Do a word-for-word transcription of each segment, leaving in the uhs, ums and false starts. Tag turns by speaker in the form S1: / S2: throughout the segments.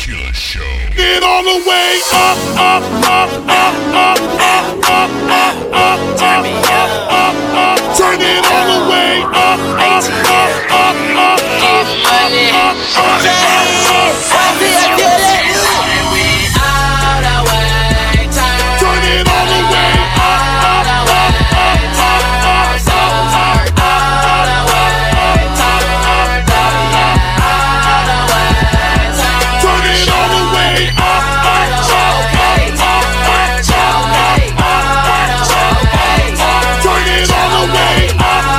S1: Sheila Show.
S2: Get all the way up, up, up, up, up, up, up, up, up,
S3: turn me up,
S2: up, up, turn it all the way up, up, up, up, up, up,
S3: money,
S2: up, up, turn it all the way up, up, up, up, up, turn it all the way up, turn it all the way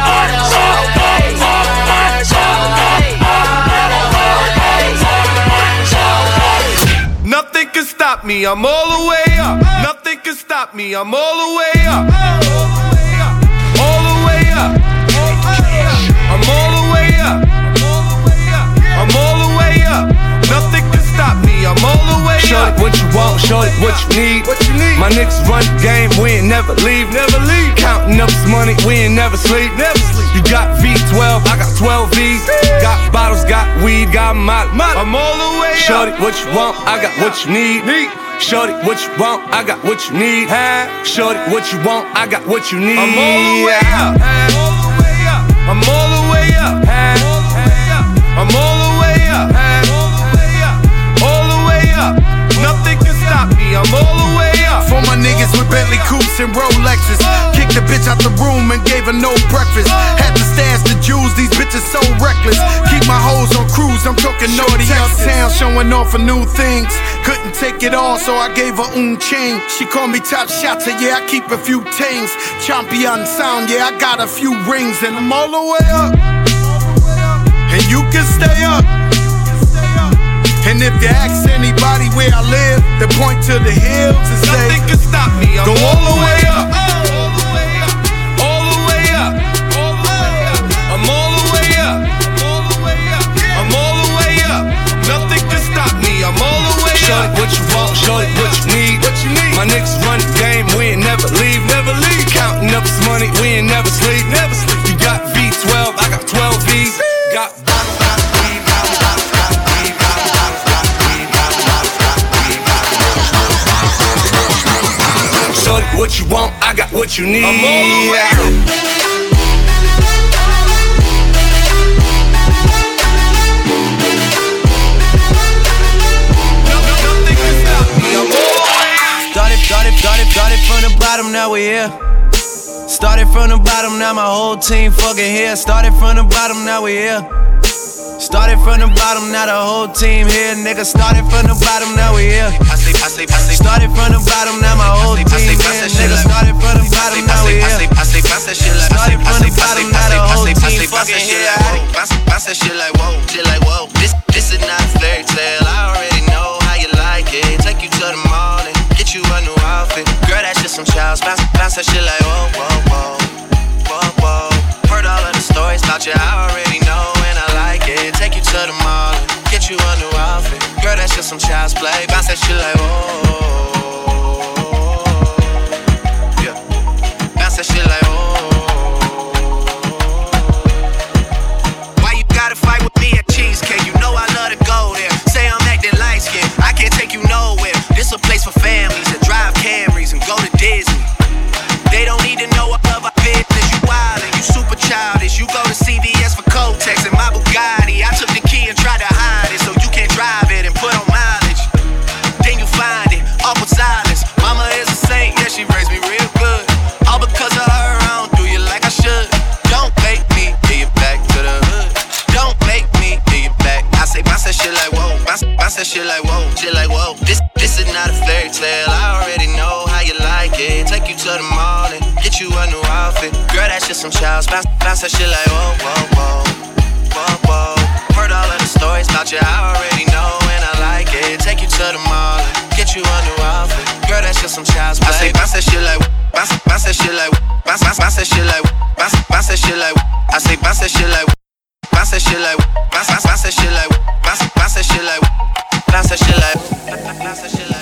S2: up.
S4: Nothing can stop me, I'm all the way up. Nothing can stop me, I'm all the way up. All the way up. I'm all the way up. I'm all the way up. Nothing can stop me, I'm all the way up.
S5: Show it what you want, show it what you need.
S4: What you need?
S5: My niggas run the game, we ain't never leave.
S4: Never leave.
S5: Counting up this money, we ain't never sleep.
S4: Never sleep.
S5: You got V twelve, I got twelve V's. Got bottles, got weed, got molly.
S4: I'm all the way up.
S5: Shorty, what you want, I got what you need.
S4: Need.
S5: Shorty, what you want, I got what you need. Shorty, what you want, I got what you need.
S4: I'm all the way up. I'm all the way up. I'm all the way up. All the way up. Nothing can stop me, I'm all the way up.
S6: For my niggas with Bentley coupes and Rolexes, kicked the bitch out the room and gave her no breakfast. Had to stash the jewels, these bitches so reckless. Keep my hoes on cruise, I'm talking naughty uptown, showing off for new things. Couldn't take it all, so I gave her un chain. She called me top shotter, yeah, I keep a few tings. Champion sound, yeah, I got a few rings. And I'm all the way up, and you can stay up. And if you ask anybody where I live, they point to the hills and say,
S4: nothing can stop me, I'm
S6: go
S4: all the way up. All the way up. I'm all the way up. I'm all the way up. Nothing can stop me, I'm all the way
S5: Show
S4: up.
S5: it what you want, show it what you need.
S4: What you need?
S5: My niggas run the game, we ain't never leave.
S4: Never leave.
S5: Counting up this money, we ain't never sleep.
S4: Never sleep.
S5: You got V twelve, I got twelve V's. Got bottles, got weed, got bottles, got weed, got bottles, got weed, got bottles, got weed, got bottles. Shorty, what you want, I got what you need.
S4: I'm all the way up.
S7: Started, started, started, started from the bottom, now we here. Started from the bottom, now my whole team fucking here. Started from the bottom, now we here. Started from the bottom, now the whole team here. Nigga, started from the bottom, now we here.
S8: I sleep, I sleep, I sleep.
S7: Started from the bottom, now my whole team here. Nigga, started from the bottom, now we here.
S8: I sleep, I sleep, shit like.
S7: Started from the bottom, now the whole team fucking here.
S8: Bounce that shit like whoa, shit like whoa. This, this is not a fairy tale. I already know how you like it. Take you to the mall and get you a new outfit. Girl, that's just some child's. Bounce, bounce that shit like whoa, whoa, whoa, whoa, whoa. Heard all of the stories about you. I already know and I like it. Take you to the mall and get you a new outfit. Girl, that's just some child's play. Bounce that shit like whoa, yeah. Bounce that shit like whoa. Why you gotta fight with me at Cheesecake? You know I love to go there. Say I'm acting light skinned, I can't take you nowhere. This a place for families that drive Camrys and go to Disney. They don't need to know all of our business. You wild and you super childish. You go to C V S for Kotex and my Bugatti. I took the key and tried to hide it so you can't drive it and put on mileage. Then you find it, awkward silence. Mama is a saint, yeah, she raised me real good. All because of her, I don't do you like I should. Don't make me get you back to the hood. Don't make me get you back. I say bounce that shit like whoa, bounce, bounce that shit like whoa, shit like whoa. This, this is not a fairy tale. I already know how you like it. Take you to the mall and get you a new outfit. Girl, that's just some child's. Bounce, bounce that shit like whoa, whoa, whoa, whoa, whoa. Heard all of the stories about you. I already know and I like it. Take you to the mall and get you a new outfit. Girl, that's just some child's play. I say bounce that shit like bounce, bounce that shit like bounce, bounce, bounce that shit like bounce, bounce that shit like. I say bounce that shit like bounce that shit like bounce, bounce, bounce that shit like bounce, bounce that shit like bounce that shit like bounce that shit like.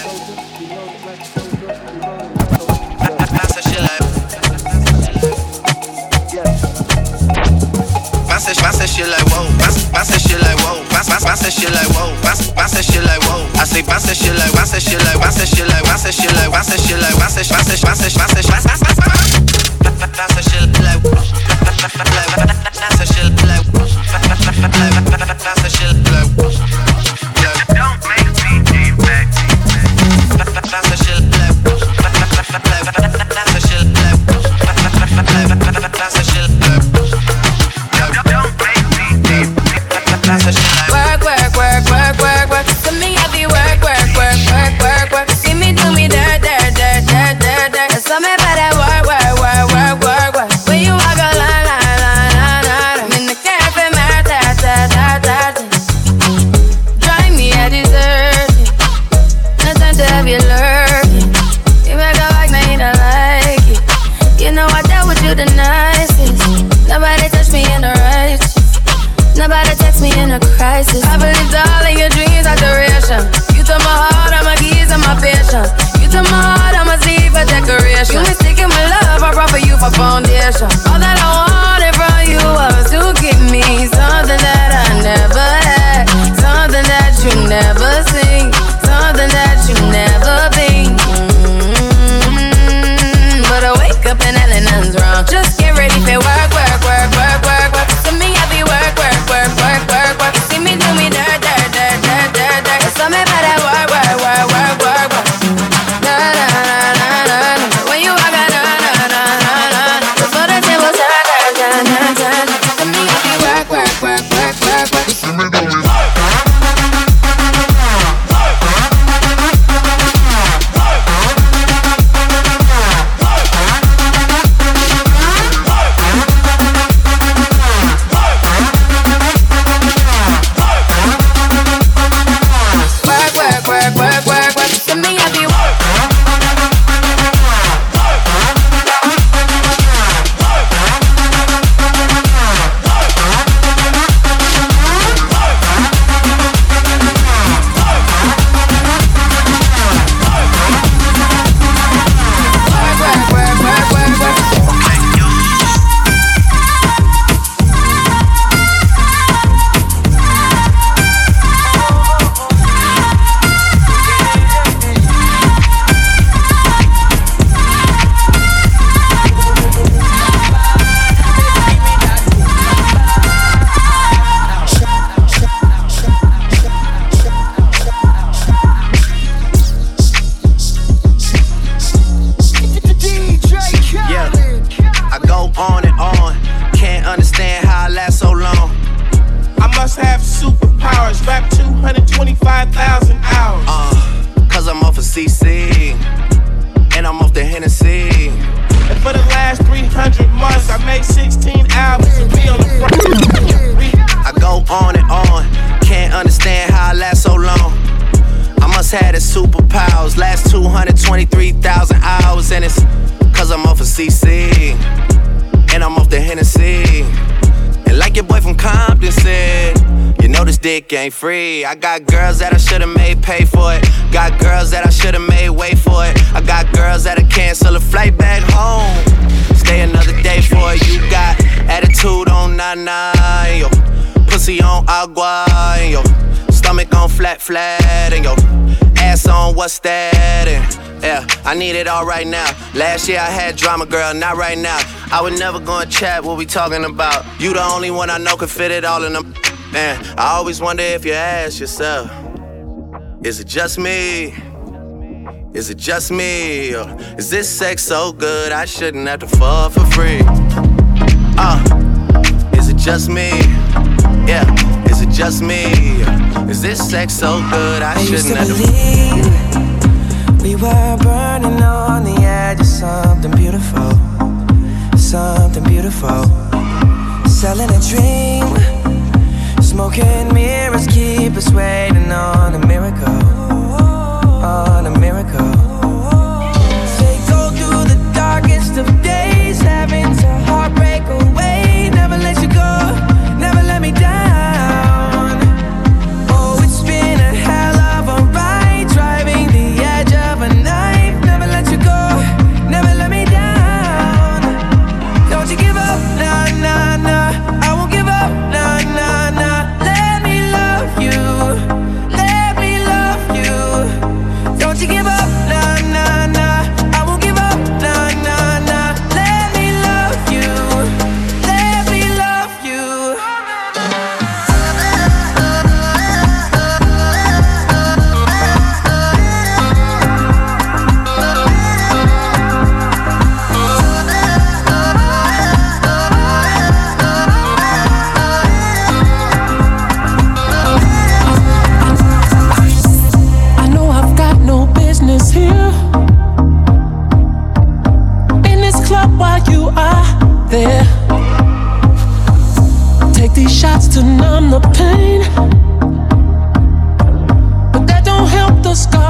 S8: Bounce that shit like whoa, bounce, bounce that shit like whoa, bounce, bounce, bounce
S7: bounce that shit like whoa, bounce, bounce that shit like whoa. I say bounce that shit like, bounce that shit like, bounce that shit like, bounce that shit like, bounce that shit like, bounce that, bounce that, bounce that, bounce that, bounce that, bounce that, bounce that shit like, bounce that shit like, bounce that shit like. Don't make me deep back. Bounce that shit like, bounce that shit like, bounce that shit like. Don't make me deep. Work, work, work, work, work, work. To me, I be work, work, work, work, work, work. See me do me dirt, dirt, dirt, dirt, dirt, dirt. There's something about that work, work, work, work, work, work. When you walk a line, line, line, line, line. I'm in the cafe, man, ta, ta, ta, ta, ta. Drive me a dessert. No time to have you lurking. You make a like, now you don't like it. You know I dealt with you the nicest. Nobody touched me in the righteous. Nobody text me in a crisis. I believed all of your dreams are duration. You took my heart, all my keys, and my patience. You took my heart, I must leave a decoration. You mistaken my love, I brought for you for foundation. All that I wanted from you was to give me something that I never had, something that you never seen, something that you never been. Mm-hmm. But I wake up and nothing's wrong. Just get ready for work, work, work, work, work, work. To me, I be work, work, work, work, work, work. You see me do me dirt, dirt, dirt, dirt, dirt, dirt. There's something about that work, work, work, work, work, work. Na na na na na na. When you walk, na na na na na. Before the table turn, turn, turn, turn, turn. To me, I be work, work, work, work, work, work. You see me do me. Ain't free. I got girls that I should've made pay for it. Got girls that I should've made wait for it. I got girls that'll cancel a flight back home. Stay another day for it. You got attitude on nana, and your pussy on agua, and your stomach on flat flat, and your ass on what's that? And yeah, I need it all right now. Last year I had drama, girl, not right now. I would never go and chat what we talking about. You the only one I know could fit it all in them. Man, I always wonder if you ask yourself, is it just me? Is it just me? Or is this sex so good I shouldn't have to fuck for free? Uh, is it just me? Yeah, is it just me? Or is this sex so good I, I shouldn't have to believe
S1: we were burning on the edge of something beautiful, something beautiful. Selling a dream. Smoking mirrors keep us waiting on a miracle, on a miracle. They go through the darkest of days, having to heartbreak away. Never let you go, never let me down. Oh, it's been a hell of a ride, driving the edge of a knife. Never let you go, never let me down. Don't you give up, nah, nah, nah. I won't give up, nah, nah, nah. You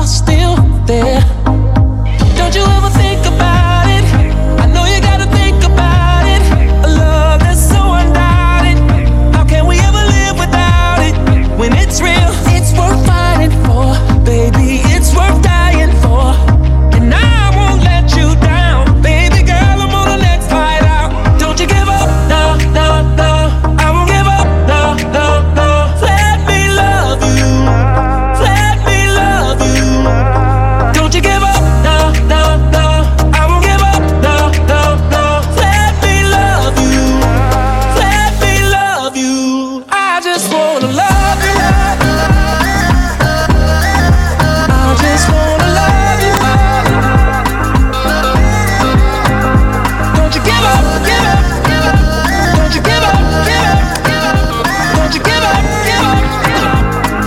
S3: are still there. Don't you ever think about it? I know you gotta think about it. A love that's so undoubted. How can we ever live without it? When it's real, it's worth fighting for. Baby, it's worth dying for. And I won't let you down. Baby girl, I'm on the next flight out. Don't you give up, no, no, no. I won't give up, no, no, no. Let me love you. Let me love you. Don't you give up, no, no, no. I won't give up, no, no, no. Let me love you. Let me love you. I just wanna love you. I just wanna love you. Don't you give up, give up, give up. Don't you give up, give up, give up. Don't you give up, give up, give up.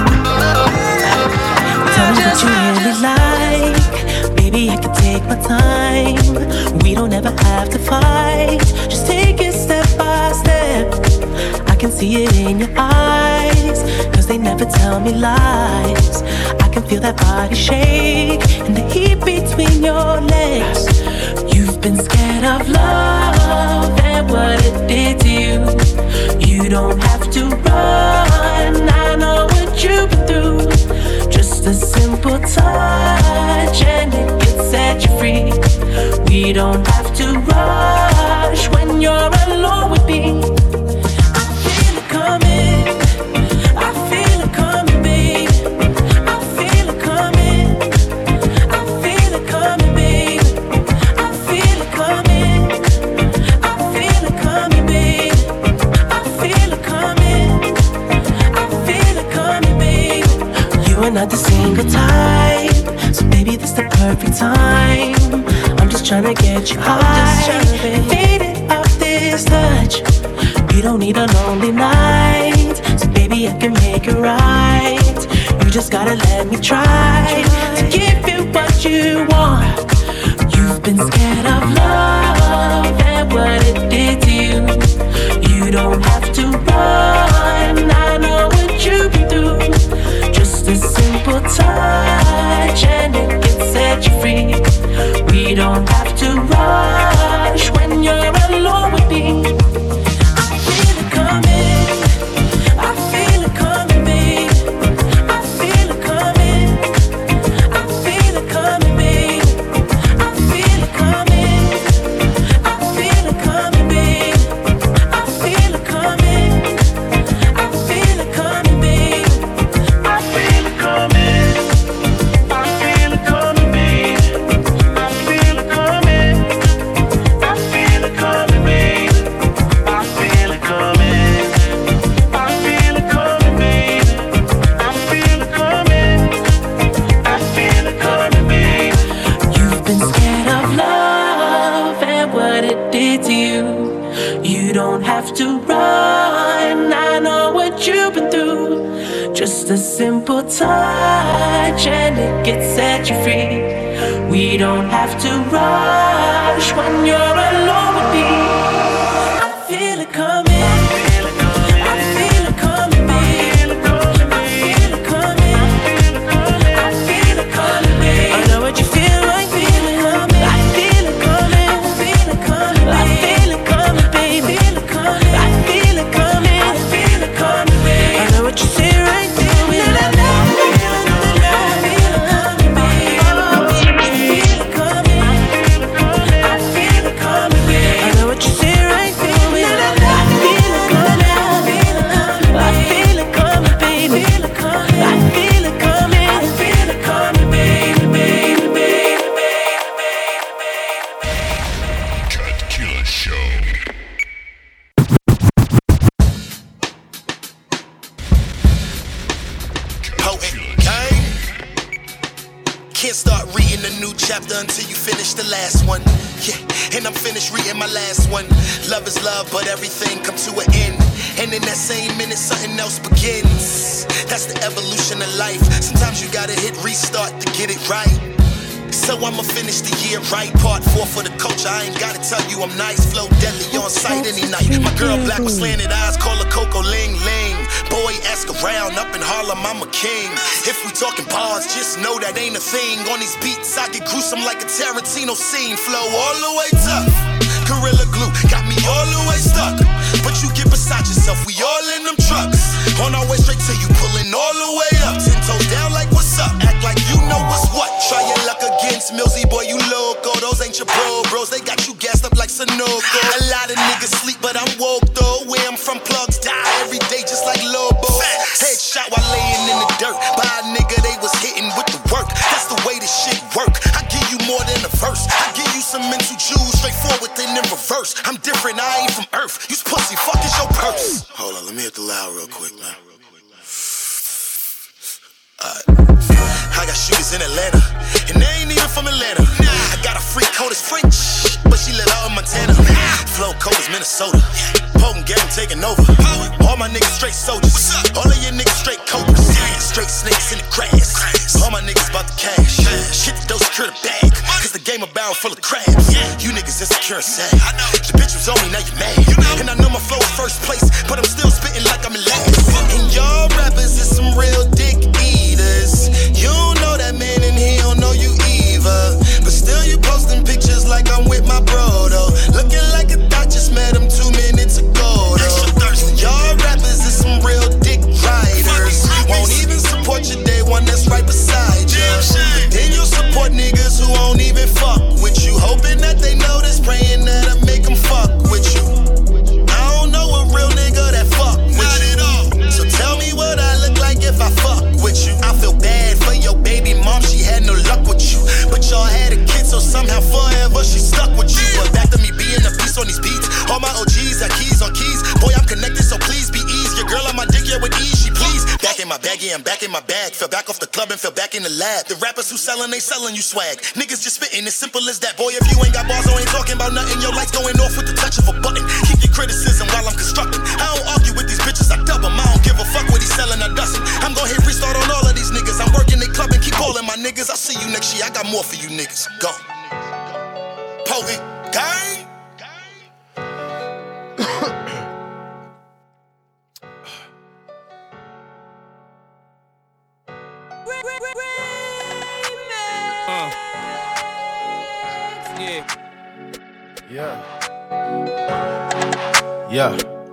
S9: Tell me what you really like. Baby, I can take my time. We don't ever have to fight. Just take it step by step. I can see it in your eyes, cause they never tell me lies. I can feel that body shake and the heat between your legs. You've been scared of love and what it did to you. You don't have to run, I know what you've been through. Just a simple touch and it can set you free. We don't have to rush when you're alone with me. I feel it coming, I feel it coming, babe. I feel it coming, I feel it coming, babe. I feel it coming, I feel it coming, babe. I feel it coming, I feel it coming, babe. You are not the single type, so baby, this the perfect time. I'm just tryna get you high, faded off this touch. You don't need a lonely night, so baby, I can make it right. You just gotta let me try to give you what you want. You've been scared of love and what it did to you. You don't have to run, I know what you've been through. Just a simple touch and it can set you free. We don't have to rush when you're alone with me. I feel it coming, I feel it coming, babe. I feel it coming, I feel it coming, babe. I feel it coming, I feel it coming, babe. I feel it coming, I feel it coming, babe. I feel it coming, I feel it coming, babe. I feel it coming, I feel it coming, babe. I feel it coming, I feel it coming, babe. I feel it coming, I feel it coming, babe. You've been scared of love and what it did to you. You don't have to run, I know what you've been through. Just a simple touch and it can set you free. We don't have to rush when you're alone with me. I feel it coming, I feel it coming, babe. I feel it coming, I feel it coming, babe. I know what you feel like, feel it coming. I feel it coming, I feel it coming, I feel it coming, babe. I feel it coming, I feel it coming, babe. I know what you say right there.
S8: Can't start reading a new chapter until you finish the last one. Yeah, and I'm finished reading my last one. Love is love, but everything comes to an end. And in that same minute, something else begins. That's the evolution of life. Sometimes you gotta hit restart to get it right.
S10: So I'ma finish the year right. Part four for the culture. I ain't gotta tell you I'm nice. Flow deadly on sight any night. My girl black with slanted eyes, call her Coco Ling Ling. Boy, ask around, up in Harlem, I'm a king. If we talking bars, just know that ain't a thing. On these beats, I get gruesome like a Tarantino scene. Flow all the way tough. Gorilla glue got me all the way stuck. But you get beside yourself, we all in them trucks. On our way straight to you, pulling all the way up. Ten toes down like what's up, act like you know what's what. Try your luck against Millsy, boy, you loco. Those ain't your bro bros, they got you gassed up like Sunoco. A lot of niggas sleep, but I'm woke though. Where I'm from, plugs die every day just like Lobo. Headshot while laying in the dirt. By a nigga, they was hitting with the work. That's the way this shit work. I give you more than a verse. I give you some mental jewels, straightforward then in reverse. I'm different, I ain't from Earth. You pussy, fuck is your purse. Hold on, let me hit the loud real quick, man. Uh, I got shooters in Atlanta, and they ain't even from Atlanta. I got a freak cold as French, but she let out in Montana. Flow cold as Minnesota. Potent game taking over. All my niggas straight soldiers. All of your niggas straight cobras. Straight snakes in the grass. All my niggas about the cash. Shit the dough, secure the bag. Cause the game a barrel full of crabs. You niggas insecure and sad. The bitch was on me, now you mad. And I know my flow is first place, but I'm still spitting like I'm in last. And y'all rappers is some real dick eaters. You don't know that man and he don't know you either. But still you posting pictures like I'm with my bro though. Looking like a thought just met him two minutes ago though. Y'all rappers is some real dick riders. Won't even support your day one that's right beside you. Then you'll support niggas who won't even fuck with you. Hoping that they notice, praying that I make them fuck with you. I don't know a real nigga that fuck with you. So tell me what I look like if I fuck with you. I feel bad for your baby mom, she had no luck with you. But y'all had a kid, so somehow forever she stuck with you. But back to me being a beast on these beats. All my O Gs got keys on keys. Boy, I'm connected, so please be easy. Your girl on my dick, yeah, with ease, she please. Back in my bag, yeah, I'm back in my bag. Fell back off the club and fell back in the lab. The rappers who sellin', they sellin' you swag. Niggas just spittin', as simple as that. Boy, if you ain't got bars, I ain't talking about nothing. Your lights going off with the touch of a button. Keep your criticism while I'm constructing. I don't argue with these bitches, I dub them. I don't give a fuck what he's selling, I dust him. I'm gon' hit restart on all of these niggas. I'm working the club and keep calling my niggas. I'll see you next year, I got more for you niggas. Go. Potent gang.
S3: Uh. Yeah.
S11: Yeah. Yeah.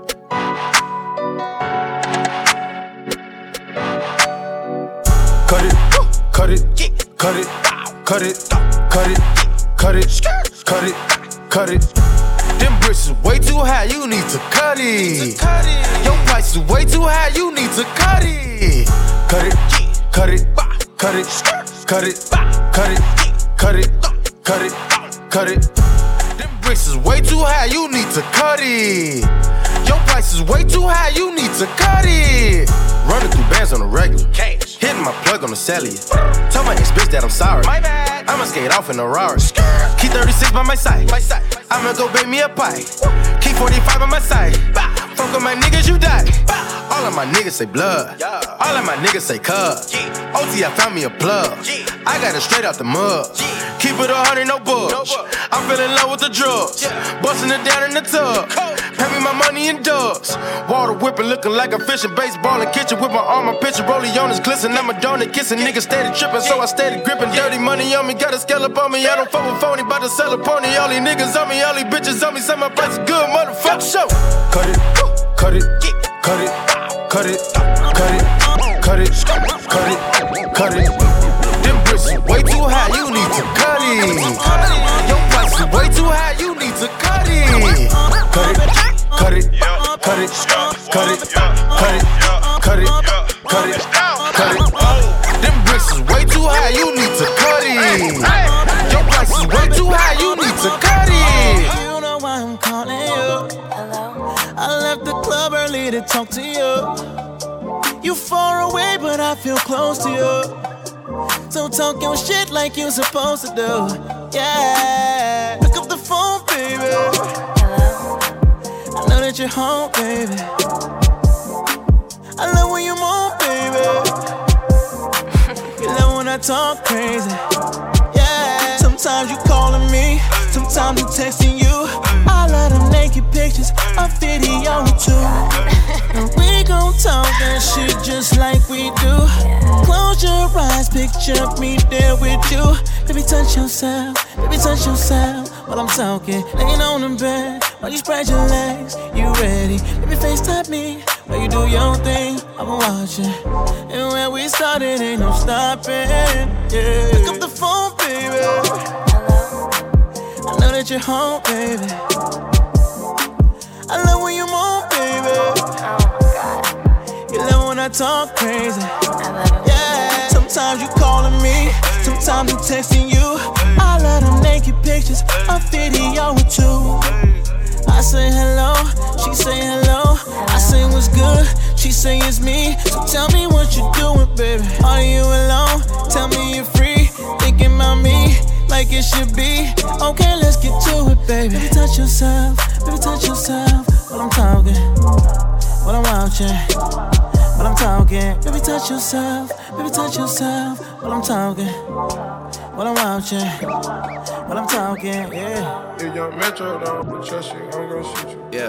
S11: Cut it, cut it, cut it, cut it, cut it, cut it, cut it, cut it. Them bricks is way too high, you need to cut it. Your price is way too high, you need to cut it. Cut it, cut it, cut it, cut it, cut it, cut it, cut it, cut it. Them bricks is way too high, you need to cut it. Your price is way too high, you need to cut it. Running through bands on the regular. Cash. Hitting my plug on the cellular. Tell my ex-bitch that I'm sorry. My bad. I'ma skate off in a Rari. Keep thirty-six by my side. My side. I'ma go bake me a pie. Keep forty-five by my side. Fuck with my niggas, you die. All of my niggas say blood. All of my niggas say cuz. O T, I found me a plug. I got it straight out the mud. Keep it a hundred, no bugs. I fell in love with the drugs. Busting it down in the tub. Pay me my money in dubs. Water whipping, looking like a fishing. Baseball in kitchen with my arm, my pitcher. Rollie on his glisten. I'm a donut kissing. Niggas steady tripping, so I steady gripping. Dirty money on me, got a scale up on me. I don't fuck with phony, bout to sell a pony. All these niggas on me, all these bitches on me. Say my price is good, motherfucker. Show. Cut it, cut it, cut it, cut it, cut it, cut it, cut it, cut it. Them bricks is way too high, you need to cut it. Your price is way too high, you need to cut it. Cut it, cut it, cut it, cut it, cut it, cut it, cut it, cut it. Them bricks is way too high, you need to cut it. Your price is way too high, you need to cut it.
S9: You know why I'm calling you. Hello. I left the club early to talk to you. You far away, but I feel close to you. So talk your shit like you supposed to do. Yeah. Pick up the phone, baby. Hello. I know that you're home, baby. I love when you move, baby. You love when I talk crazy. Yeah.
S3: Sometimes you calling me, sometimes I'm texting you. I love them naked pictures, a video or two. And we gon' talk that shit just like we do. Close your eyes, picture me there with you. Baby, touch yourself, baby, touch yourself. While I'm talking, laying on the bed, while you spread your legs, you ready? Baby, FaceTime me, while you do your thing, I'm watching. And where we started, ain't no stopping, yeah. Pick up the phone, baby. I know that you're home, baby. I love when you move, baby. You love when I talk crazy. Yeah. Sometimes you calling me, sometimes I'm texting you. I love them naked pictures, a video or two. I say hello, she say hello. I say what's good, she say it's me. So tell me what you doing, baby. Are you alone? Tell me you're free. Thinking about me like it should be. Okay, let's get to it, baby. Baby, touch yourself, baby, touch yourself. While I'm talking, while I'm watching, while I'm talking. Baby, touch yourself, baby, touch yourself. While I'm talking, while I'm watching, while I'm talking, yeah.
S12: If young Metro don't trust you, I'm gonna shoot you.
S7: Yeah.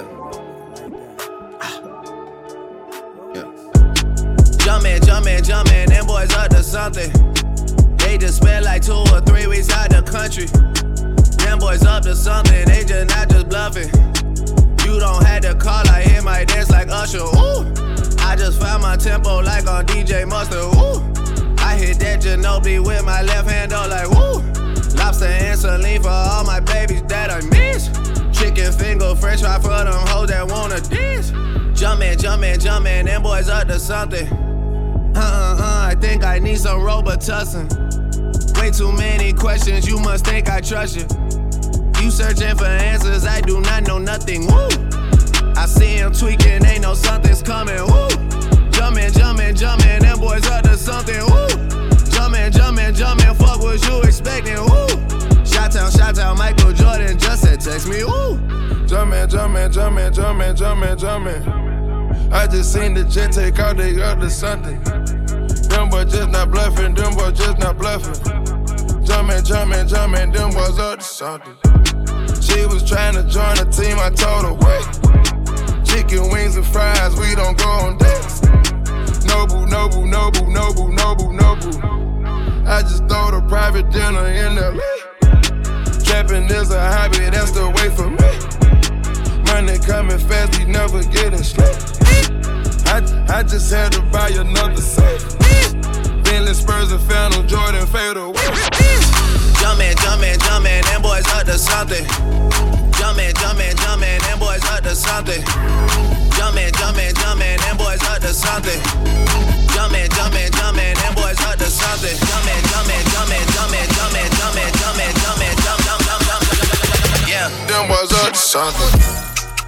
S7: Yeah. Jumpin', jumpin', jumpin', them boys up to something. They just spent like two or three weeks out the country. Them boys up to something, they just not just bluffing. You don't have to call, I hit my dance like Usher, ooh. I just found my tempo like on D J Mustard, ooh. I hit that Ginobili with my left hand, though, like woo. Lobster and saline for all my babies that I miss. Chicken finger, french fry for them hoes that wanna dance. Jumpin', jumpin', jumpin', them boys up to something. Uh-uh-uh, I think I need some Robitussin. Way too many questions, you must think I trust you. You searching for answers, I do not know nothing, woo. I see him tweaking, ain't no something's coming, woo. Jumpin', jumpin', jumpin', them boys up to something, woo. Jumpin', jumpin', jumpin', fuck what you expecting, woo. Shot-town, shot-town, Michael Jordan just said text me, woo.
S12: Jumpin', jumpin', jumpin', jumpin', jumpin', jumpin'. I just seen the jet take out, they up to something. Them boys just not bluffing, them boys just not bluffing. Jumpin', jumpin', jumpin', them boys up to something. She was trying to join the team, I told her, wait. Chicken wings and fries, we don't go on dates. Noble, noble, noble, noble, noble, noble. I just throw the private dinner in L A. Trapping is a hobby, that's the way for me. Money coming fast, we never getting straight. I, I just had to buy another safe. Bentley Spurs and Phantom Jordan fade away.
S7: Jumpin', jumpin', jumpin', them boys up to something. Jumpin', jumpin', jumpin', them boys up to something. Jumpin', jumpin', jumpin', them boys up to something. Jumpin', jumpin', jumpin', them boys up to something. Jumpin', jumpin', jumpin', jumpin', jumpin', jumpin', jumpin', jumpin', jump, jump, jump, jump. Yeah.
S12: Them boys up to something.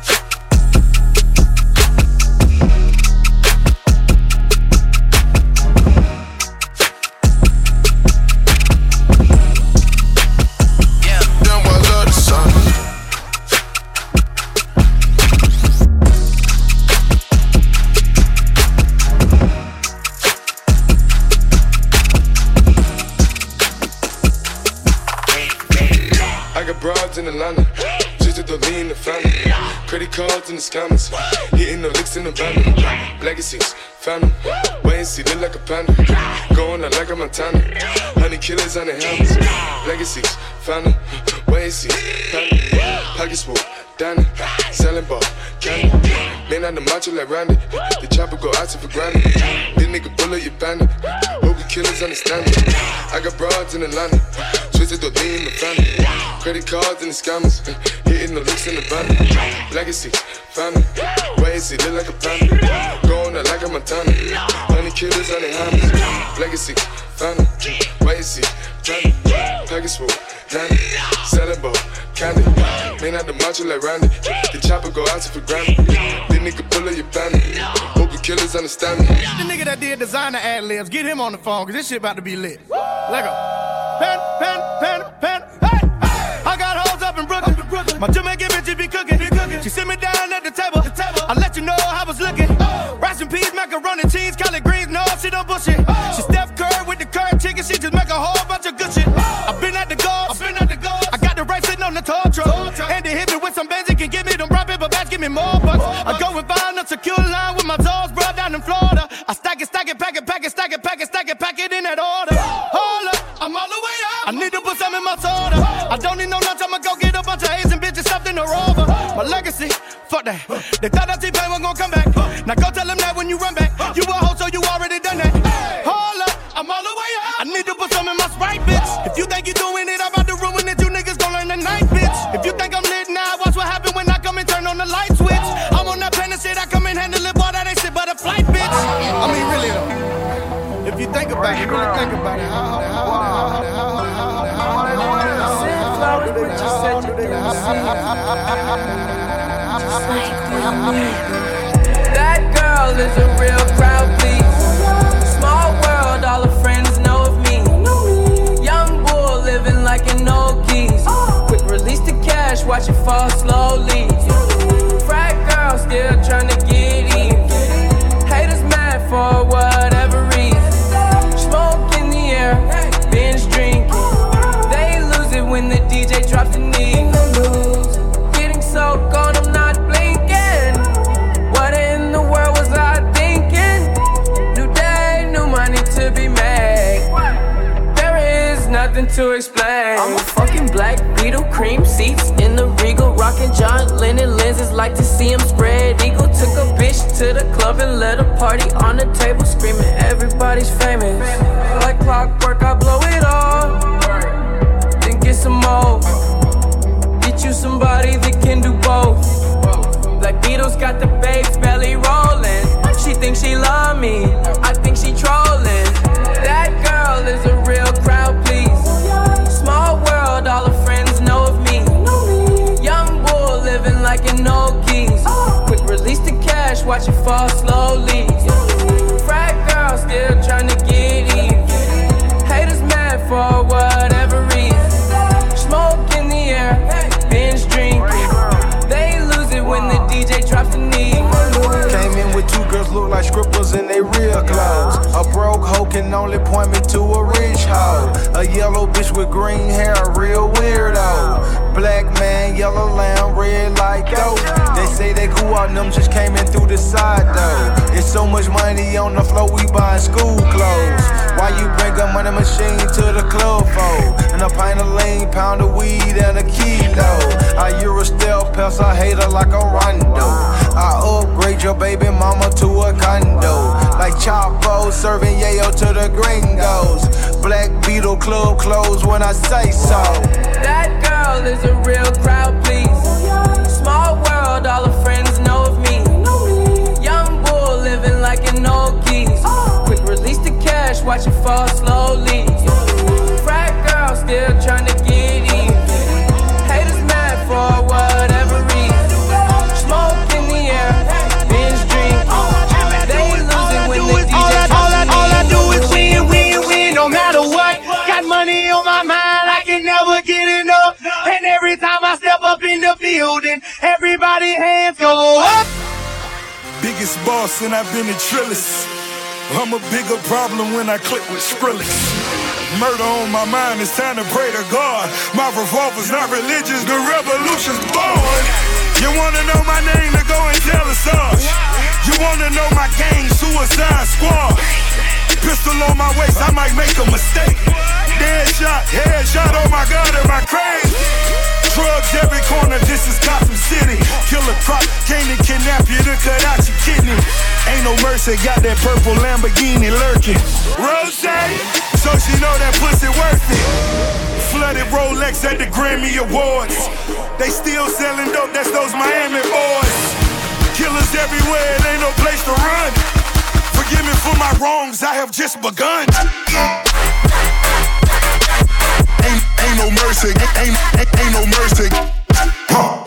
S13: In Atlanta, just to the lean the family. Credit cards in the scammers, hitting the licks in the van. Legacies, family, wait and see, look like a panda. Going out like a Montana, honey killers on the helmets. Legacies, family, wait and see, family. Pockets full, Danny, selling ball, candy. Man on the macho like Randy, the chopper go out to for granted. This nigga bullet, you bandit. Hope the killers understand it. I got broads in Atlanta, twisted the lean the family. Credit cards and the scammers, hitting the licks in the van. Legacy, family, wait and see, look like a panda. Going out like a Montana, honey killers on the hammers. Legacy, family, wait and see, family. Package full, Danny, selling ball, candy. Man out the macho like Randy, the chopper go out to for granted. This nigga bullet, you bandit. Hope the killers understand me.
S14: The nigga that did designer ad libs, get him on the phone, cause this shit about to be lit. Like a pen, pen, pen, pen, hey, hey. I got hoes up in Brooklyn. Up in Brooklyn. My Jamaican bitches be cooking. Be cooking. She sit me down at the table. The table. I let you know how I was looking. Oh. Rice and peas, macaroni, cheese, collard greens, no, she don't bullshit. Oh. She Steph Curry with the curry chicken, she just make a whole bunch of good shit. Oh. I been at the golf, I been at take it in that order. Hold up, I'm all the way up. I need to put some in my soda. I don't need no lunch, I'ma go get a bunch of Asian bitches stuffed in a rover. My legacy, fuck that. They thought that T-Pain was gonna come back. Now go tell them that when you run back. You a hoe, so you already done that. Hold up, I'm all the way up. I need to put some in my Sprite, bitch. If you think you doing it, I'm about to ruin it. You niggas gon' learn tonight, bitch. If you think I'm lit now, watch what happen when I come and turn on the light switch. I'm on that pen and shit, I come and handle it, boy, that ain't shit but a flight, bitch. I mean, really though. If you think about it, really think about it. How, how, how, how,
S15: that girl is a real crowd, please. Small world, all her friends know of me. Young bull living like an old geese. Quick release the cash, watch it fall slowly. Frat girl still trying to get even. Haters mad for whatever reason. Smoke in the air, binge drinking. They lose it when the D J drops the knee. Getting so gone, I'm not blinking. What in the world was I thinking? New day, new money to be made. There is nothing to explain. I'm a fucking black Beetle, cream seats in the Regal, rocking John Lennon lenses, like to see him spread eagle. Took a bitch to the club and let a party on the table, screaming everybody's famous. Like clockwork, I blow it all, then get some more. Get you somebody that can do both. Black Beatles got the babes belly rolling. She thinks she love me, I think she trolling. That girl is a real crowd, please. Small world, all her friends know of me. Young bull living like an old geese. Quick release the cash, watch it fall slowly. Frat girl still trying to get even. Haters mad for whatever reason. Smoke in the air, binge drinking. They lose it when the D J drops the knee.
S11: Came in with two girls look like strippers in they real clothes. A broke hoe can only point me to a rich hoe. A yellow bitch with green hair, a real weirdo. Black man, yellow lamb, red like dope. They say they cool out, them just came in through the side though. It's so much money on the floor, we buying school clothes. Why you bring a money machine to the club for? And a pint of lean, pound of weed, and a kilo. I Euro stealth pest, I hate her like a rondo. I upgrade your baby mama to a condo. Like Chapo serving yayo to the gringos. Black Beetle club closed when I say so.
S15: That girl is a real crowd, please. Small world, all her friends know of me. Young bull living like an old geese. Quick release the cash, watch it fall slowly. Frat girl still trying to get even. Haters mad for whatever reason. Smoke in the air, binge drink. They lose it when the D J
S14: all I, all I do is win, win, win, no matter what. Got money on my mind, I can never get enough. And every time I step up in the building, everybody hands go up.
S16: Biggest boss and I've been a Trillis. I'm a bigger problem when I click with Skrillex. Murder on my mind, it's time to pray to God. My revolver's not religious, the revolution's born. You wanna know my name, to go and tell us us. You wanna know my gang, Suicide Squad. Pistol on my waist, I might make a mistake. Dead shot, head shot, oh my God, am I crazy? Drugs every corner, this is Gotham City. Killer Croc came to kidnap you to cut out your kidney. Ain't no mercy, got that purple Lamborghini lurking. Rose, so she know that pussy worth it. Flooded Rolex at the Grammy Awards. They still selling dope, that's those Miami boys. Killers everywhere, it ain't no place to run. Forgive me for my wrongs, I have just begun. Ain't, ain't no mercy, ain't, ain't, ain't no mercy. Huh.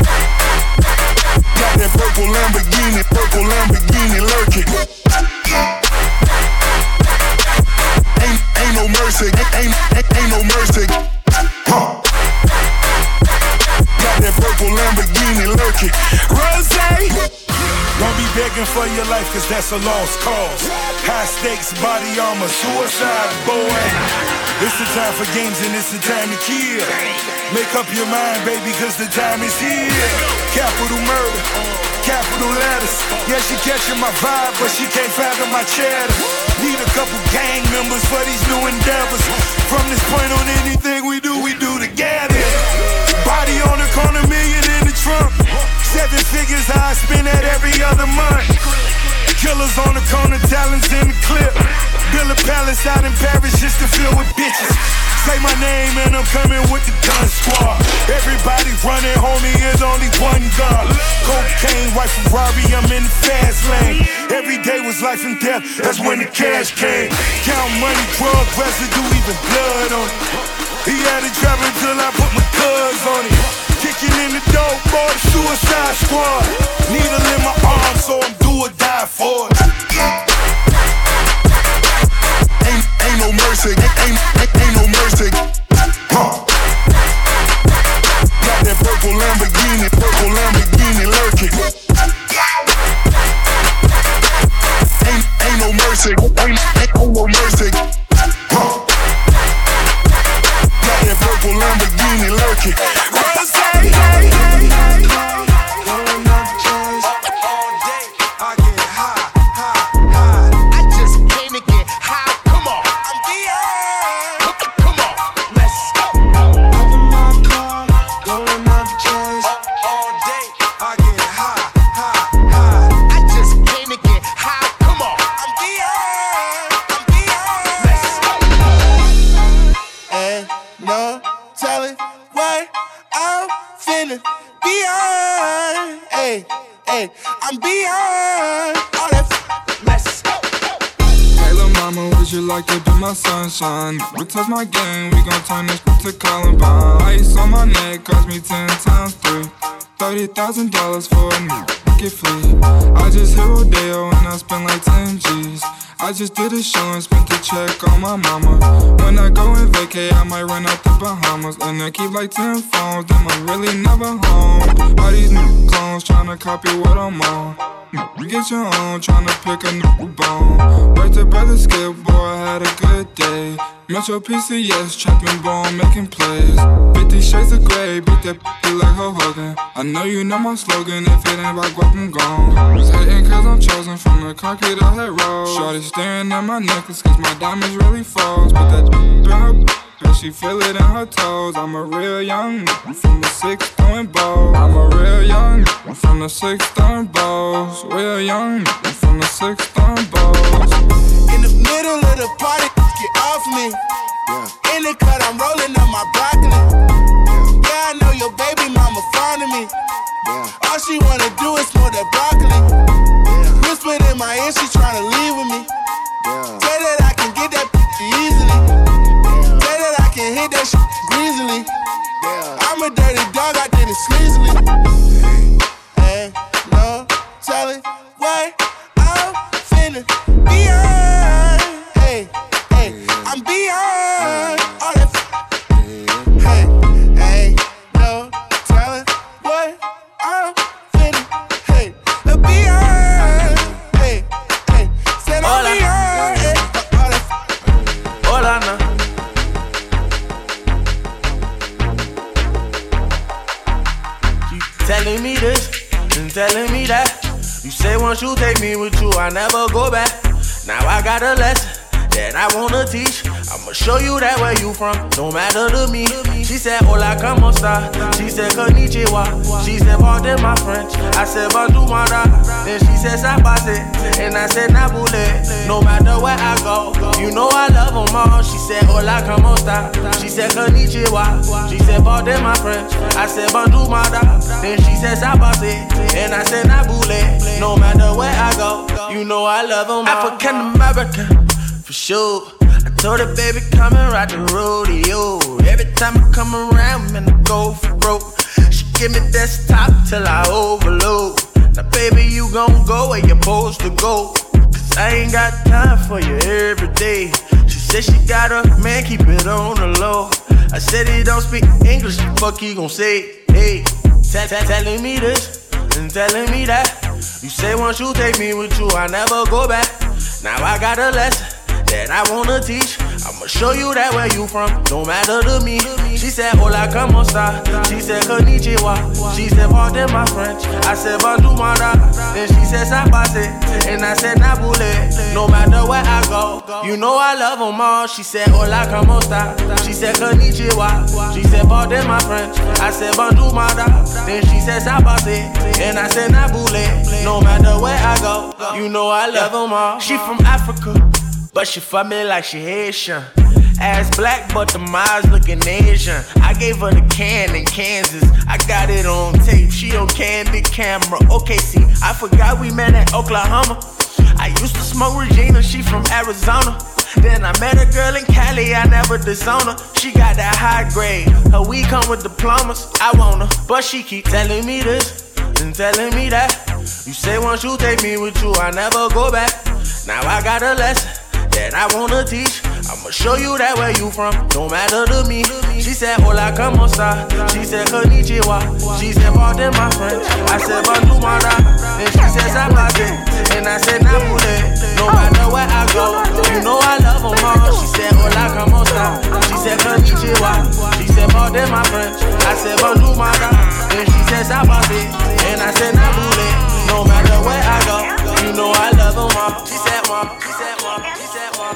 S16: Got that purple Lamborghini, purple Lamborghini lurking. Ain't, ain't no mercy, ain't, ain't, ain't no mercy. Huh. Got that purple Lamborghini lurking. Rose, don't be begging for your life, cause that's a lost cause. High stakes, body armor, suicide, boy. It's the time for games and it's the time to kill. Make up your mind, baby, cause the time is here. Capital murder, capital letters. Yeah, she catching my vibe, but she can't fathom my cheddar. Need a couple gang members for these new endeavors. From this point on, anything we do, we do together. Body on the corner, million in the trunk. Seven figures, I spend that every other month. Killers on the corner, talents in the clip. Build a palace out in Paris just to fill with bitches. Say my name and I'm coming with the gun squad. Everybody running, homie, is only one gun. Cocaine, white Ferrari, I'm in the fast lane. Every day was life and death, that's when the cash came. Count money, drug residue, even blood on it. He had it trapping till I put my cuz on it. Kicking in the door, boy, suicide squad. Needle in my arm, so I'm do or die for it. Ain't, ain't no mercy, ain't, ain't, ain't no mercy. Huh. Got that purple Lamborghini, purple Lamborghini lurking. Ain't, ain't no mercy, ain't, ain't, ain't no mercy. Huh. Got that purple Lamborghini lurking. Rose, hey, hey, hey, hey. Rolling up the chairs all day. I get high, high, high. I just came to get high. Come on, I'm beyond. Come on, let's go. Up in my car, rolling up the chairs all day. I get high, high, high. I just came to get high. Come on, I'm beyond. I'm beyond. Let's go. Ain't no telling what I'm finna beyond. Hey, hey, I'm beyond all that. Let's go.
S17: Hey, lil' mama, would you like to be my sunshine? We touch my game, we gon' turn this to Columbine. Ice on my neck cost me ten times three. Thirty thousand dollars for a new get free. I just hit Rodeo and I spent like ten G's. I just did a show and spent the check on my mama. When I go and vacay, I might run out the Bahamas. And I keep like ten phones, them I'm really never home. All these new clones tryna copy what I'm on. You get your own, tryna pick a new bone. Right to brother Skip, boy, I had a good day. Metro P C S, trapping bone, making plays. Fifty shades of gray, beat that p*** like Hulk Hogan. I know you know my slogan, if it ain't about guap, I'm gone. Was hating cause I'm chosen from the concrete I had rolled. Shorty staring at my necklace cause my diamonds really falls. Put that in her b***, and she feel it in her toes. I'm a real young n***a from the six throwing balls. I'm a real young n***a from the six throwing balls. Real young n***a from the six throwing balls.
S18: In the middle of the party, get off me. Yeah. In the cut, I'm rolling up my broccoli. Yeah, yeah, I know your baby mama fond of me. Yeah. All she wanna do is smoke that broccoli. Yeah. Whispered in my ear, she tryna leave with me. Yeah. Say that I can get that easily. Yeah. Say that I can hit that shit greasily. Yeah. I'm a dirty dog, I did it sleazily. Ain't no telling what I'm finna beyond. Hey, hey, I'm beyond all that. Hey, hey, no telling what I'm finna. Hey, beyond. Hey, hey, said I'm beyond. Hey, all that.
S3: Hola, now. You telling me this and telling me that. You say once you take me with you, I never go back. Now I got a lesson that I wanna teach. I'ma show you that where you from, no matter to me. She said, hola, como esta? She said, konnichiwa. She said, pardon my French. I said, bonjour, mara. Then she said, sabase. And I said, nabule. No matter where I go, you know I love them all. She said, hola, como esta? She said, konnichiwa. She said, pardon my French. I said, bonjour, mara. Then she said, sabase. And I said, nabule. No matter where I go, you know I love them all. African American, for sure. I told her, baby, come and ride the rodeo. Every time I come around, man, I go for broke. She give me desktop till I overload. Now, baby, you gon' go where you're supposed to go. Cause I ain't got time for you every day. She said she got a man, keep it on the low. I said he don't speak English, fuck he gon' say, hey. T- t- telling me this and telling me that.
S19: You say once you take me with you, I never go back. Now I got a lesson that I wanna teach. I'ma show you that where you from, don't matter to me. She said, hola, como esta? She said, konnichiwa. She said, pardon my French. I said, bonjour, mada. Then she said, sabase. And I said, nabule. No matter where I go, you know I love them all. She said, hola, como esta? She said, konnichiwa. She said, pardon my French. I said, bonjour, mada. Then she said, sabase. And I said, nabule. No matter where I go, you know I love them all. She from Africa, but she fuck me like she Haitian. Ass black, but the miles looking Asian. I gave her the can in Kansas. I got it on tape. She on candid camera. Okay, see, I forgot we met in Oklahoma. I used to smoke Regina. She from Arizona. Then I met a girl in Cali. I never disown her. She got that high grade. Her weed come with diplomas. I want her, but she keep telling me this and telling me that. You say once you take me with you, I never go back. Now I got a lesson that I wanna teach. I'ma show you that where you from, don't matter to me. She said, hola, como esta? She said, konnichiwa. She said, pardon my French. I said, bonjour, mada. Then she said, sabase. And I said, nabule. No matter where I go, you know I love them all. She said, hola, como esta? She said, konnichiwa. She said, pardon my French. I said, bonjour, mada. Then she said, sabase. And I said, nabule. No matter where I go, you know I love them all. She said, mom. She said, mom. She said, mom.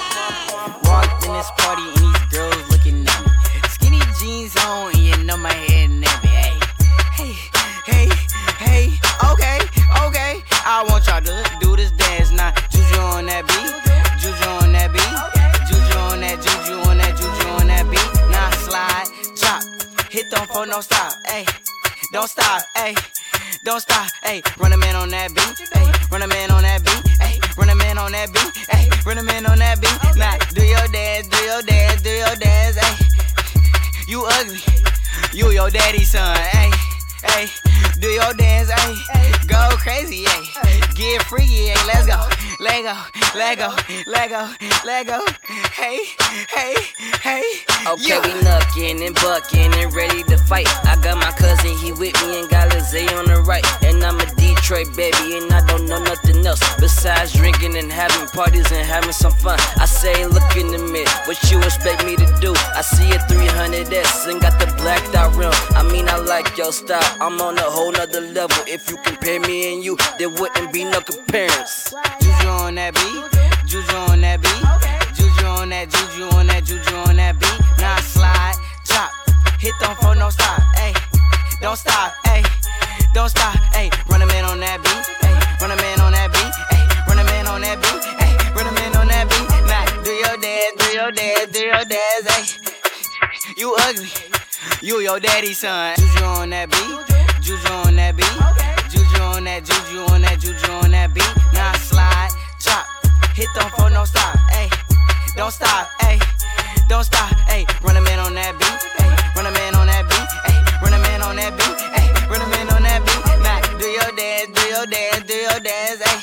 S20: Walked in this party and these girls looking at me. Skinny jeans on and you know my head nappy. Hey, hey, hey, hey, okay, okay. I want y'all to do this dance now. Juju on that beat, juju on that beat, juju on that, juju on that, juju on that beat. Now slide, chop, hit them for no stop. Hey, don't stop, hey. Don't stop, ayy, run a man on that beat, ayy, run a man on that beat, ayy, run a man on that beat, ayy, run a man on that beat. Now, do your dance, do your dance, do your dance, ayy. You ugly, you your daddy's son, ayy, ayy. Do your dance, ayy. Go crazy, ayy. Get freaky, ayy. Let's go, let go, let go, let go, let go. Hey, hey, hey.
S21: Okay, yeah. We knuckin' and buckin' and ready to fight. I got my cousin, he with me and got Lizzie on the right. And I'm a Detroit baby and I don't know nothing else besides drinking and having parties and having some fun. I say, look in the mirror, what you expect me to do? I see a three hundred S and got the blacked out rim. I mean, I like your style, I'm on a whole nother level. If you compare me and you, there wouldn't be no comparison.
S20: Juju on that beat, juju on that beat, juju on that, juju on that, juju on that beat. Now slide, chop, hit them for no stop, ayy. Don't stop, ayy. Don't stop, ayy. Run a man on that beat, ayy. Run a man on that beat, ayy. Run a man on that beat, ayy. Run a man on that beat. Now do your dance, do your dance, do your dance, ayy. You ugly, you your daddy's son. Juju on that beat, juju on that beat, juju on that, juju on that, juju on that beat. Now slide, chop, hit them for no stop, ayy. Don't stop, ayy. Don't stop, ayy. Run a man on that beat, ayy. Run a man on that beat, ayy. Run a man on that beat, ayy. Run a man on that beat. Now do your dance, do your dance, do your dance, ayy.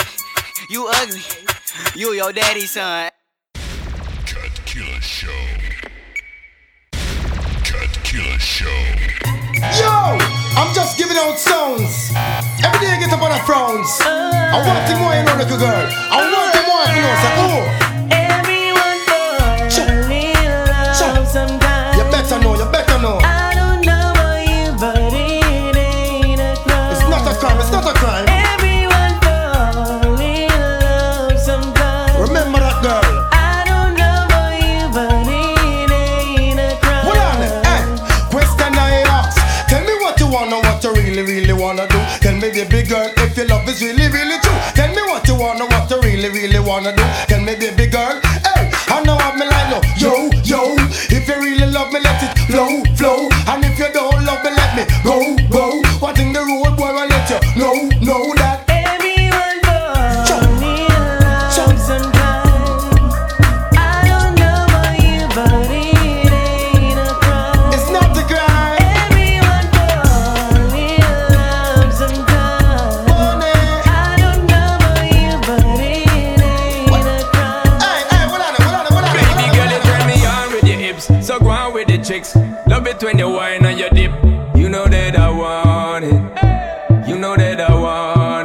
S20: You ugly, you your daddy's son.
S22: Cut Killer Show. Cut Killer Show.
S23: Yo, I'm just giving out sounds. Every day I get up on a frowns. I want it more, you know, little girl. I want it more, you know, say, oh.
S9: Everyone falls in love sometimes.
S23: You better know, you better know.
S9: I don't know about you, but it ain't a crime.
S23: It's not a crime, it's not a crime.
S9: Everyone falls in love sometimes.
S23: Remember that girl.
S9: I don't know about you, but it ain't a crime.
S23: Hold on, hey. Question I ask. Tell me what you wanna, what you really, really wanna do. Tell me, baby girl, if your love is really, really true. Tell me what you wanna, what you really, really wanna do. Tell me, baby girl, hey, I know what me like now. Yo, yo, if you really love me, let it flow, flow. And if you don't love me, let me go, go. What in the road, boy, I let you know, know that.
S9: Everyone falls in love sometimes. I don't know about you, but it ain't a crime.
S23: It's not a crime.
S9: Everyone falls in love sometimes. I don't know about you, but it ain't a crime.
S23: Hey, hey, what on it, what on it, what on it?
S24: Baby girl, you turn me on with your hips, so go on with the chicks. Love it when you whine and you dip. You know that I want it. You know that I want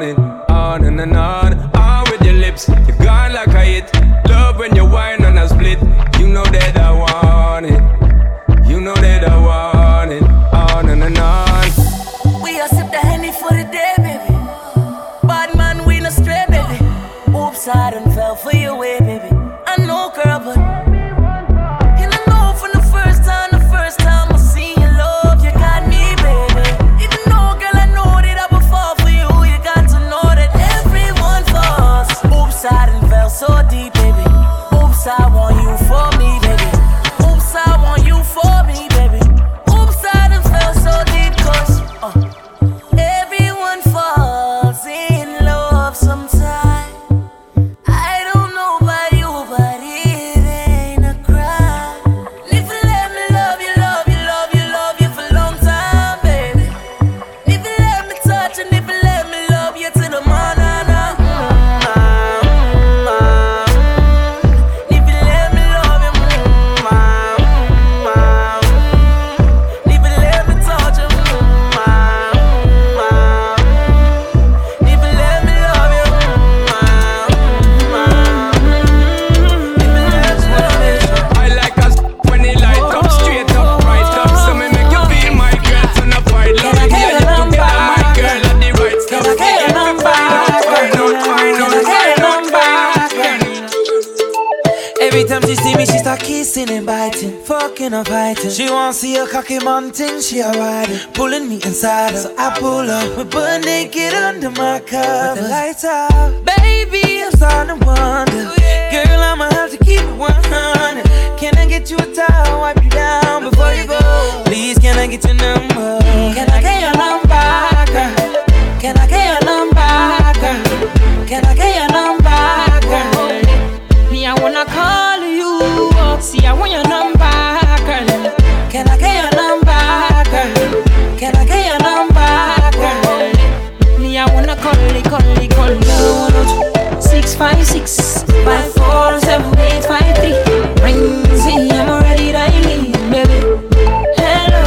S1: start kissing and biting, fucking or fighting. She wants see a cocky mountain, she a riding, pulling me inside her. So I pull up, we butt naked under my cover. With the lights out, baby, I'm starting to wonder. Girl, I'ma have to keep it one hundred. Can I get you a towel, wipe you down before you go? Please, can I get your number? Can I get your number, girl? Can I get your number, girl? Can I get your number, girl? Me, I wanna call you up. See, I want your number, girl. Can I get your number, girl? Can I get your number, girl? Me, I wanna call it, call it, call it. Six five six five four seven eight five three. Rings in, I'm already dialing, baby. Hello,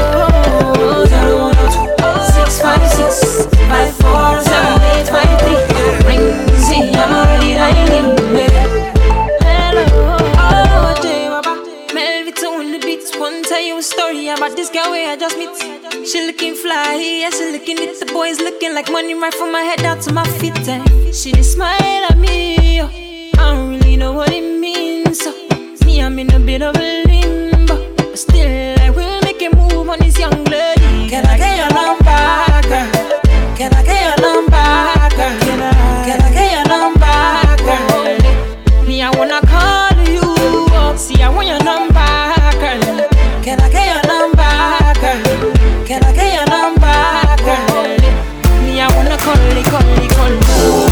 S1: zero one two six five six five four seven eight five three. Rings in, I'm already dialing, baby. Hello, oh, Jay, Baba. Melvito on the beats. One tell you a story about this girl where I just meet. She looking fly, yeah, she looking at the boys looking like money right from my head down to my feet. And she just smile at me, yo. I don't really know what it means. So me, I'm in a bit of a limbo, but still I will make a move on this young lady. Can I get your number, girl? Can I get your number, girl? Can I, can I get your number, girl? Me, I wanna call you up. See, I want your number, girl. Can I get your number, girl? Can I get your number, girl? Me, I wanna call it, call it, call it.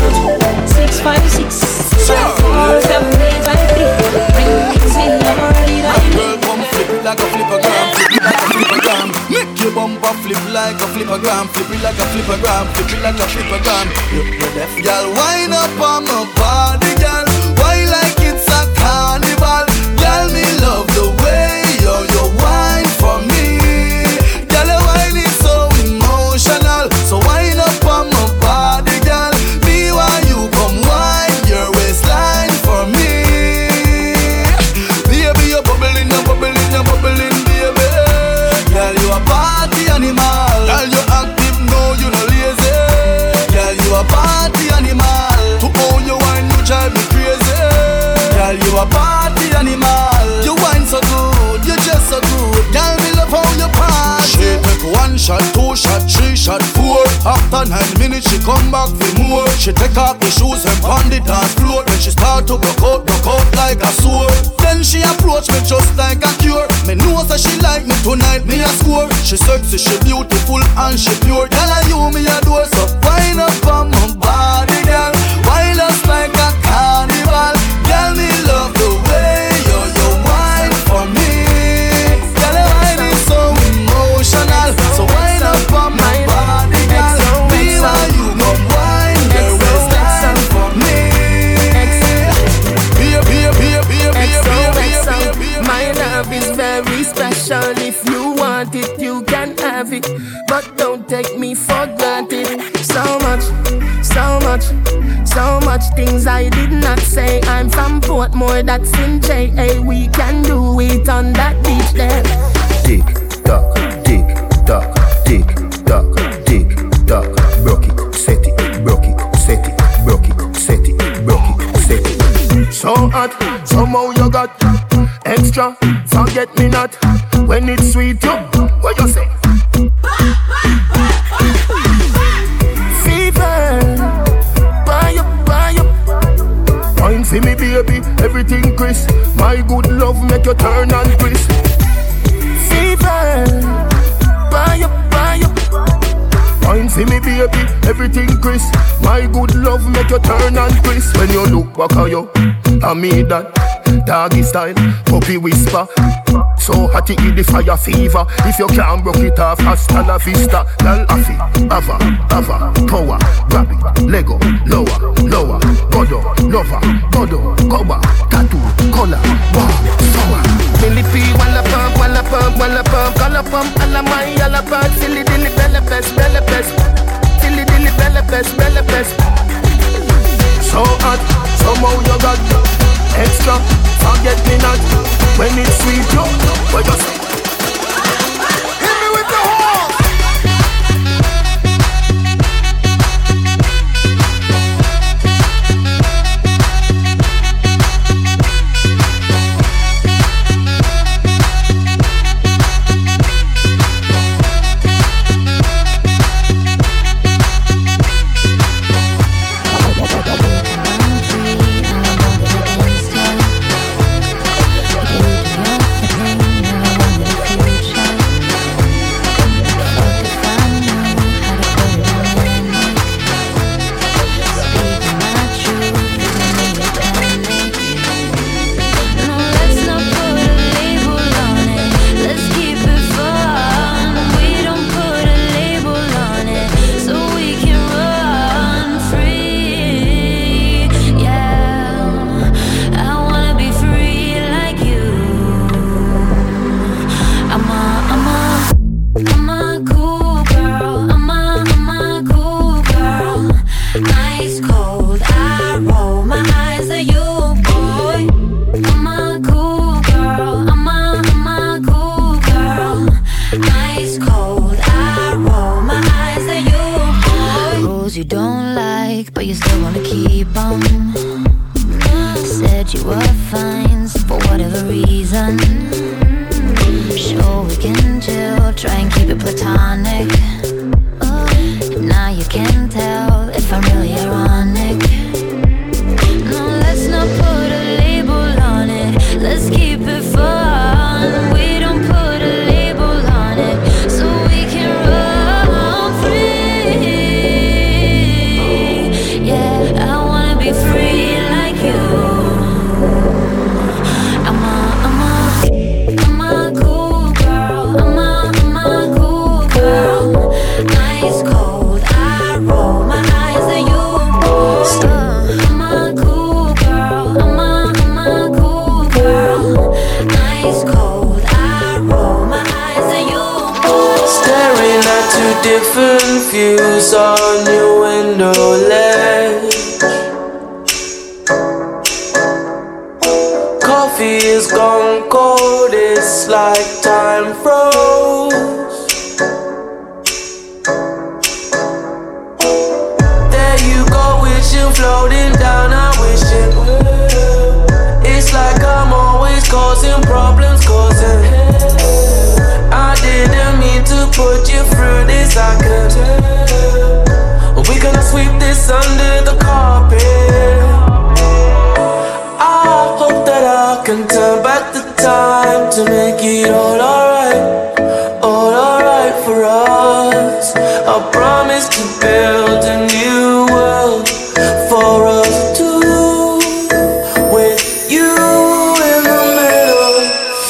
S1: Six five six five four seven eight five three. Rings in, I'm already dialing.
S2: Girl, come flip it like a flippergram, flip it like a flippergram. Make your bumper flip like a flippergram, flip it like a flippergram, flip it like a flippergram. You, you're deaf, girl. Wind up on my body, girl. Why like it's a carnival, girl? Me love the way you you wine for me. Girl, your wine is so emotional, so wind up on my body, girl. Me while you come wine your waistline for me. Baby, you're bubbling, you're bubbling, you're bubbling, baby. Girl, you a party animal. Girl, you active, no, you no lazy. Girl, you a party animal. To own your wine, you drive me crazy. Girl, you a party animal. You wine so good, you just so good. Girl, me love how you party. She take one shot, two shot, three shot, four. After nine minutes, she come back for more. She take off the shoes and pound it on floor. Then she start to broke out, broke out like a sword. Then she approach me just like a cure. Me know that she like me tonight, me a score. She sexy, she beautiful and she pure. Girl, I you me a door, so wind up on my body, girl. Wind us like a carnival. Girl, me love the way you you wine for me. Girl, your wine is so emotional, so wind up on my body, girl. Be while you come wine your waistline for me. Be a be a be a be a be a be a be a be a.
S4: My love is very special. If you want it, you can have it, but don't take me for granted. So much, so much, so much things I did not say. I'm from Portmore, that's in J A. We can do it on that beach there.
S5: Tick tock, tick tock, tick tock, tick tock. Broke it, set it, broke it, set it, broke it, set it, broke it, set it.
S4: So hot, somehow you got extra. Forget me not when it's sweet. You, what you say? Fever, buy up, buy up. Wine for me, baby, everything crisp. My good love make you turn and crisp. Fever, buy up, buy up. Wine for me, baby, everything crisp. My good love make you turn and crisp. When you look back at you, I mean that doggy style, puppy whisper. So hot it in the fire fever. If you can't broke it off, hasta la vista. Girl, affy, ava, ava, power, grab it, Lego, lower, lower, godo, lover, godo, cover, tattoo, color, wow, sour. Millipede, walla pump, walla pump, walla pump, color pump, alla my, alla pump, silly dilly, bella pest, bella pest, silly dilly, bella pest, bella pest. So hot, somehow you got extra, forget me not when it's sweet, yo. What you say? Hit me with the horn.
S6: you still wanna keep on? Said you were fine for whatever reason. Sure we can chill, try and keep it platonic. Now you can tell if I'm really ironic. No, let's not put a label on it. Let's keep it fun. We don't put a label on it, so we can run free. Yeah, I wanna be free like you. I'm a, I'm a, I'm a cool girl. I'm a, I'm a cool girl. Ice cold, I roll my eyes at you. Uh, I'm a cool girl. I'm a, I'm a cool girl. Ice cold, I roll my eyes at you.
S3: Staring at two different views on your window ledge. Coffee is gone cold, it's like time froze. There you go, wishing, floating down, I'm wishing. It's like I'm always causing problems, causing. I didn't mean to put you through this, I could. We're gonna sweep this under the carpet. I hope that I can turn back the time to make it all alright, all alright for us. I promise to build a new world for us two, with you in the middle.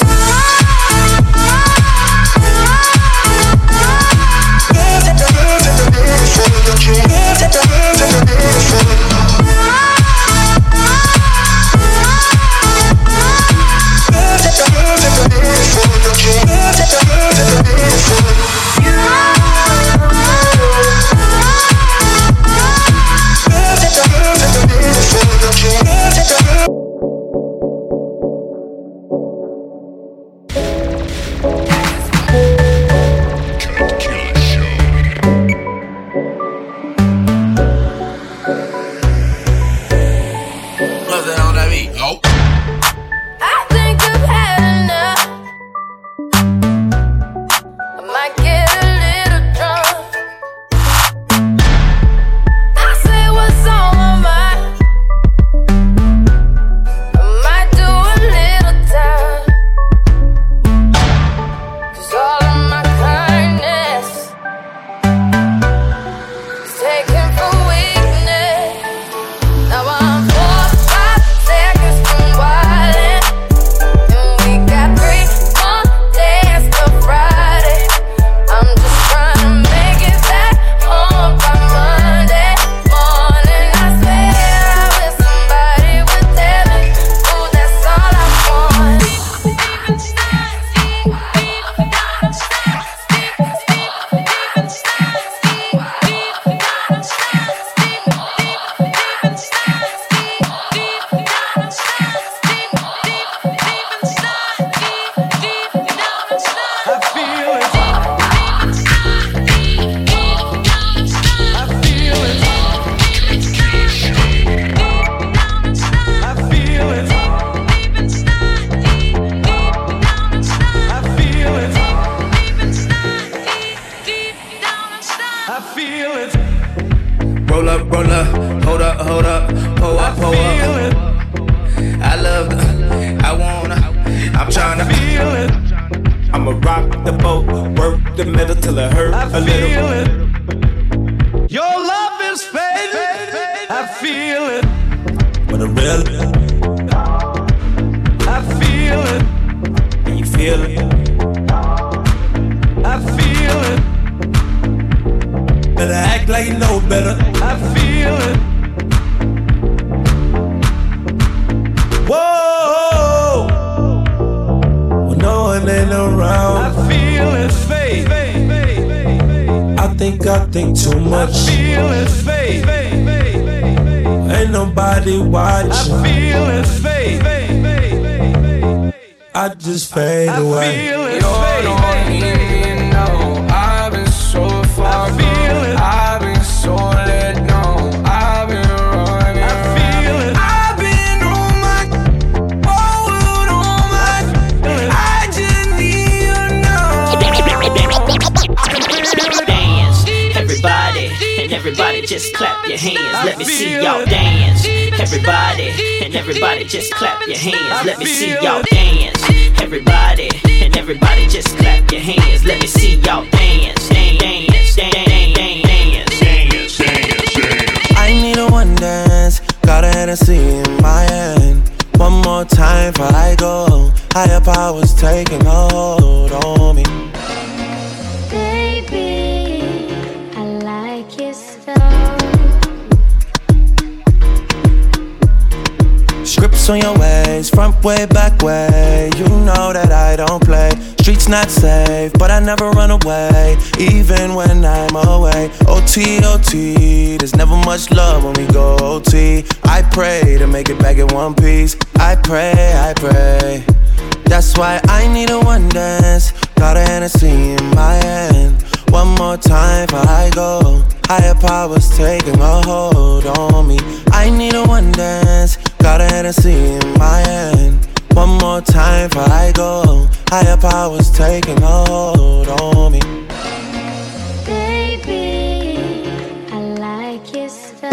S6: I think I've had enough. I might get a little drunk. I say what's on my mind. I might do a little time. 'Cause all of my kindness is taken for weakness. Now I'm four, five seconds from wildin', and we got three more days till Friday. I'm just trying to make it back home by Monday morning. I swear I wish somebody would tell me, ooh, that's all I want.
S19: Roll up, roll up, hold up, hold up, pull up, pull up. I love the, I wanna, I'm tryna feel it.
S7: I'ma rock the boat, work the middle till it hurt
S14: I
S7: a little.
S14: feel it. Your love is fading. I feel it.
S7: But a real,
S14: I feel it.
S7: and you feel it.
S14: I feel it.
S7: Better act like you know better.
S14: I feel it.
S7: Whoa, when no one ain't around.
S14: I feel it. Fade.
S7: I think I think too much.
S14: I feel it. Fade.
S7: Ain't nobody watching.
S14: I feel it. Fade.
S7: I just fade
S14: I
S7: away.
S14: feel it.
S15: You don't even know I've been so far
S14: I feel it.
S15: I've been so let go. I've been
S8: just clap your hands. Let me see y'all dance. Everybody, and everybody just clap your hands. Let me see y'all dance. Everybody, and everybody just clap your hands. Let me see y'all dance. Dance, dance, dance, dance, dance, dance.
S1: I need a one dance. Got a Hennessy in my hand. One more time before I go. Higher powers taking a hold on me.
S6: Baby, I like it so.
S1: Scripts on your ways, front way, back way. You know that I don't play. Streets not safe, but I never run away, even when I'm away. O T, O T, there's never much love when we go O T. I pray to make it back in one piece. I pray, I pray. That's why I need a one dance. Got a Hennessy in my hand. One more time before I go. Higher powers taking a hold on me. I need a one dance. Got a Hennessy in my hand. One more time before I go. Higher powers taking a hold on me.
S6: Baby, I like it so.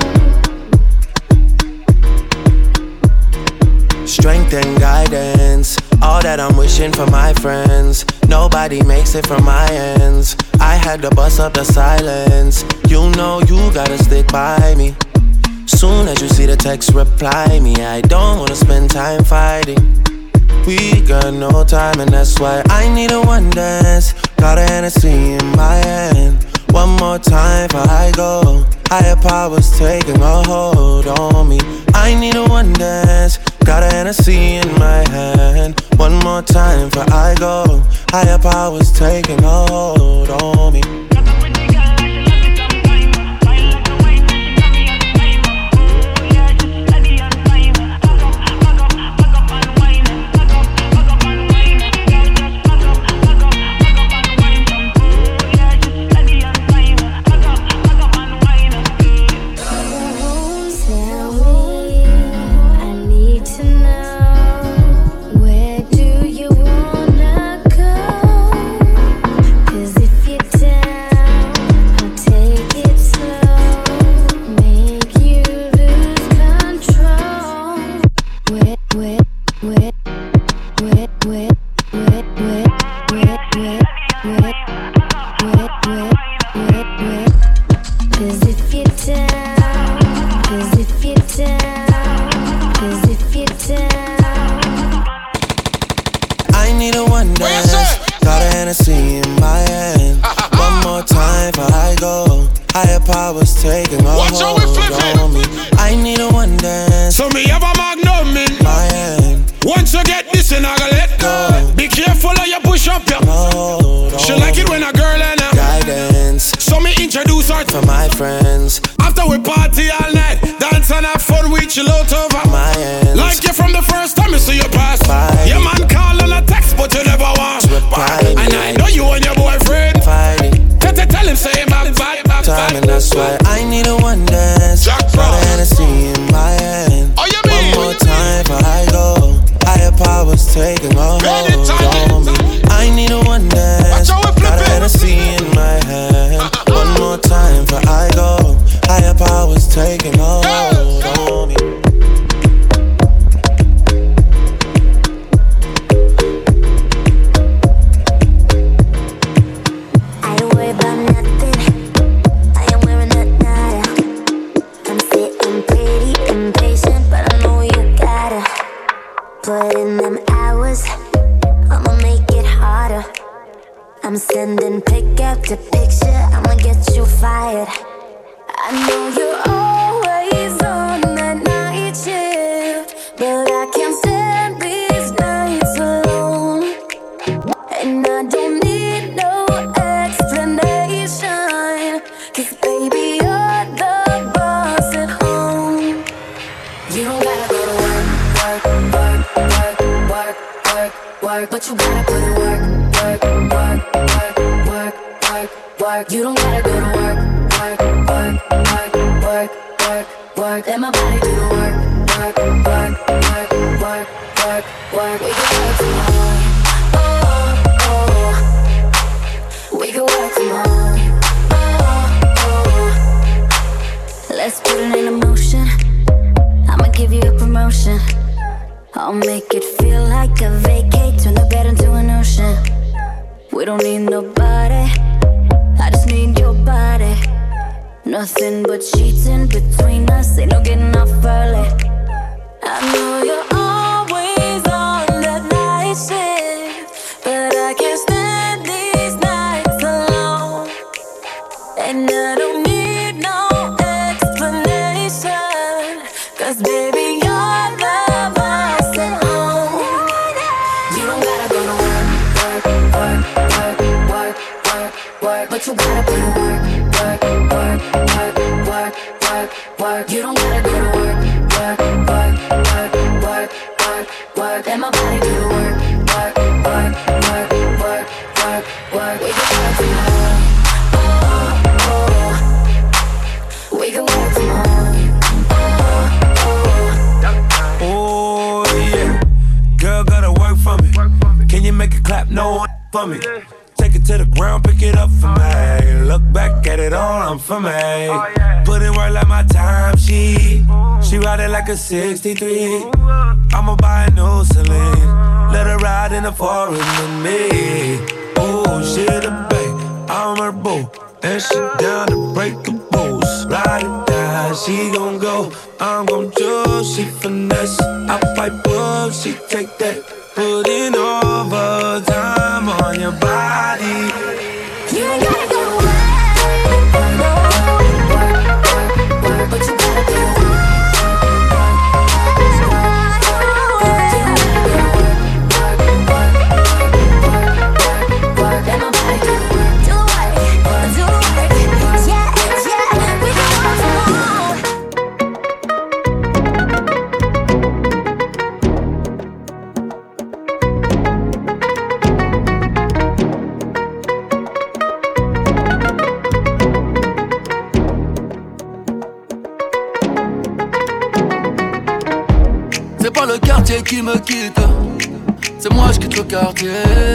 S1: Strength and guidance, all that I'm wishing for my friends. Nobody makes it from my ends. I had to bust up the silence. You know you gotta stick by me. Soon as you see the text, reply me. I don't wanna spend time fighting. We got no time and that's why I need a one dance. Got a Hennessy in my hand. One more time before I go. Higher powers taking a hold on me. I need a one dance. Got a Hennessy in my hand. One more time before I go. Higher powers taking a hold on me.
S10: motion. I'll make it feel like a vacate, turn the bed into an ocean. We don't need nobody, I just need your body. Nothing but sheets in between us, ain't no getting off early. I know you're always on that night shift, but I can't stand these nights alone. And I don't need no explanation, cause baby you're the boss at home. You don't gotta go to work, work, work, work, work, work, work, but you gotta put in work, work, work, work, work, work, work. You don't gotta go to work, work, work, work, work, work, work. Let my body do the work, work, work, work, work, work, work. We can work tomorrow. We can work tomorrow.
S7: Oh, yeah. Girl, gotta work for me. Can you make it clap? No for me. Take it to the ground, pick it up for me. Look back at it all, I'm for me. Put in work like my time sheet. She ride it like a sixty-three. I'ma buy a new Celine. Let her ride in the forest with me. Oh, she the babe, I'm her boo. And she down to break the rules. Ride it down, she gon' go. I'm gon' choose, she finesse. I fight book, she take that. Put in overtime on your body.
S10: You ain't gotta go to work, work, work, work, work, but you gotta do the work.
S11: Qui me quitte, c'est moi je quitte le quartier.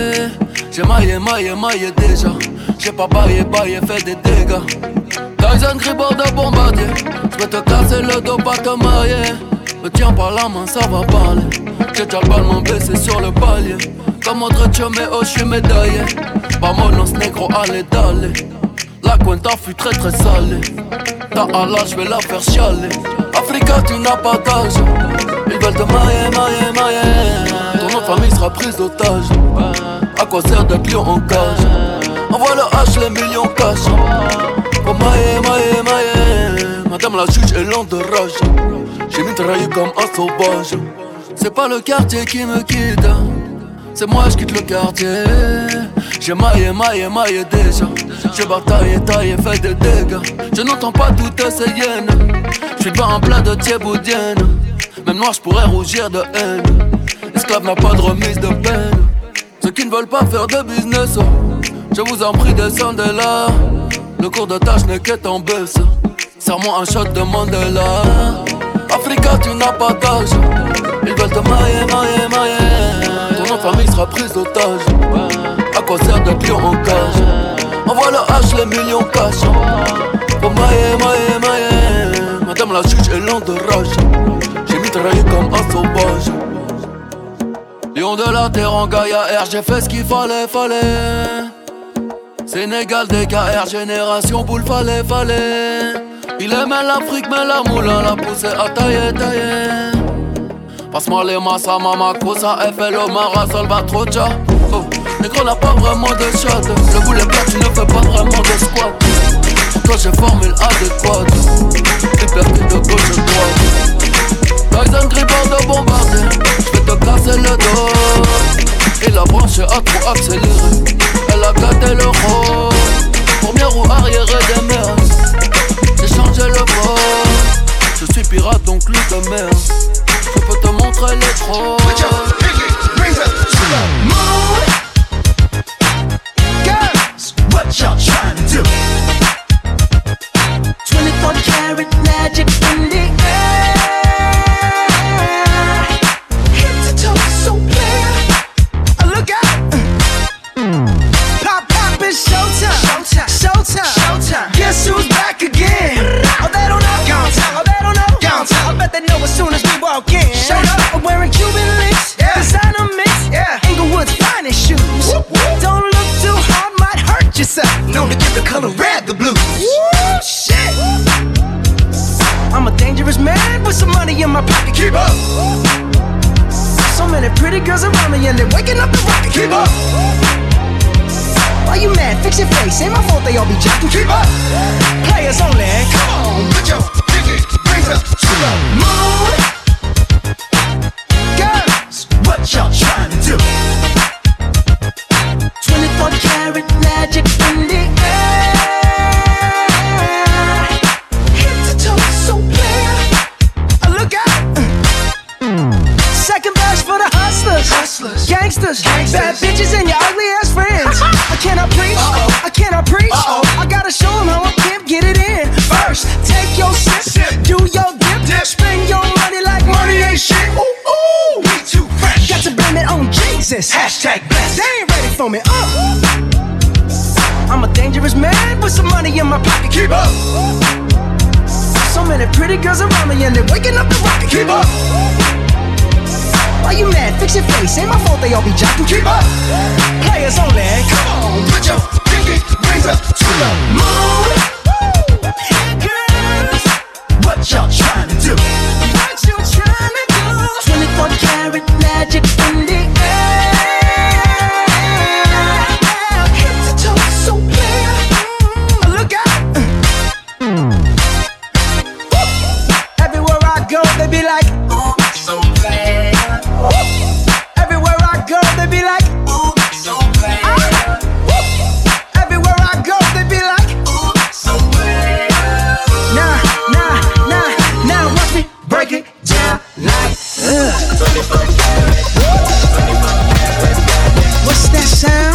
S11: J'ai maillé, maillé, maillé déjà. J'ai pas baillé, baillé, fait des dégâts. Tyson Gribord de bombardier. J'vais te casser le dos, pas te mailler. Me tiens par la main, ça va parler. J'ai déjà le ballon baissé sur le palier. Comme André Méo, j'suis médaillé. Vamonos négro, allez, d'aller. La cuenta fut très très salée. Ta Allah, j'vais la faire chialer. Africa, tu n'as pas d'âge. Ils veulent te mailler, mailler, mailler. Ton nom de famille sera prise d'otage. À quoi sert d'être lion en cage? Envoie le H, les millions cash. Pour mailler, mailler, mailler. Madame la juge est lente de rage. J'ai mitraillé comme un sauvage. C'est pas le quartier qui me quitte, c'est moi je quitte le quartier. J'ai maillé, maillé, maillé déjà. J'ai bataillé, taillé, fait des dégâts. Je n'entends pas toutes ces hyènes. J'suis pas en plein de thieboudienne. Même noir j'pourrais rougir de haine. L'esclave n'a pas de remise de peine. Ceux qui ne veulent pas faire de business, je vous en prie descendez là. Le cours de tâche n'est qu'être en baisse. Serre-moi un shot de Mandela. Africa tu n'as pas d'âge. Ils veulent te mailler, mailler, mailler. Ton nom de famille sera prise d'otage. À quoi sert d'être lion en cage? Envoie le H, les millions cash. Pour mailler, mailler, mailler. Madame la juge est lente de rage. J'ai mitraillé comme un sauvage. Lion de la terre en Gaïa R, j'ai fait ce qu'il fallait, fallait. Sénégal, D K R, génération boule, fallait, fallait. Il aimait l'Afrique, mais la moulin l'a poussé à tailler, tailler. Passe-moi les massas, mama, cosa, F L O, Mara, Salvatrocha. Oh, négro n'a pas vraiment de shot. Le boulet plat, tu ne fais pas vraiment de squat. Pour toi, j'ai formule adéquate. Liberté de gauche et droite. Tyson Gribord de bombardier. J'vais te casser le dos. Et la branche a trop accéléré. Elle a gâté le rôle. Première roue arrière des mers. J'ai changé le bord. Je suis pirate donc loup de mer. Je peux te montrer les trolls.
S12: Mood. Girls, what y'all trying to do? twenty-four karat magic in the air. Head to toe so clear. Look out. Pop, pop, it's showtime. Showtime. Showtime. Showtime. Guess who's back again? Oh, they don't know. Oh, they don't know. I bet they know as soon as we walk in.
S13: face, ain't my fault they all be jacking. Keep up, players only. Come on, put your pinky rings up to the moon. Girls, what y'all trying to do? twenty-four karat magic in the air. Head to toe, so clear. Look out. Second verse for the hustlers, hustlers, gangsters, gangsters, bad bitches and your ugly ass friends. I cannot preach, uh-oh. I cannot preach. Uh-oh. I gotta show them how a pimp get it in. First, take your sip, sip. Do your dip, dip, spend your money like money ain't shit. Ooh, ooh, we too fresh. Got to blame it on Jesus. Hashtag blessed. They ain't ready for me. Uh. I'm a dangerous man with some money in my pocket. Keep up. So many pretty girls around me and they're waking up the rocket. Keep up. Why you mad? Fix your face. Ain't my fault they all be jocking. Keep up. Players only. Come on, put your pinky rings up to the moon. Girls, what y'all trying to do? What you trying to do? twenty-four karat magic in the air. Head to toe, so clear. Look out. Everywhere I go, they be like, oh, so bad. Everywhere I go, they be like, ooh, so bad. Everywhere I go, they be like, ooh, so bad. Nah, nah, nah, now watch me break it down like uh. What's that sound?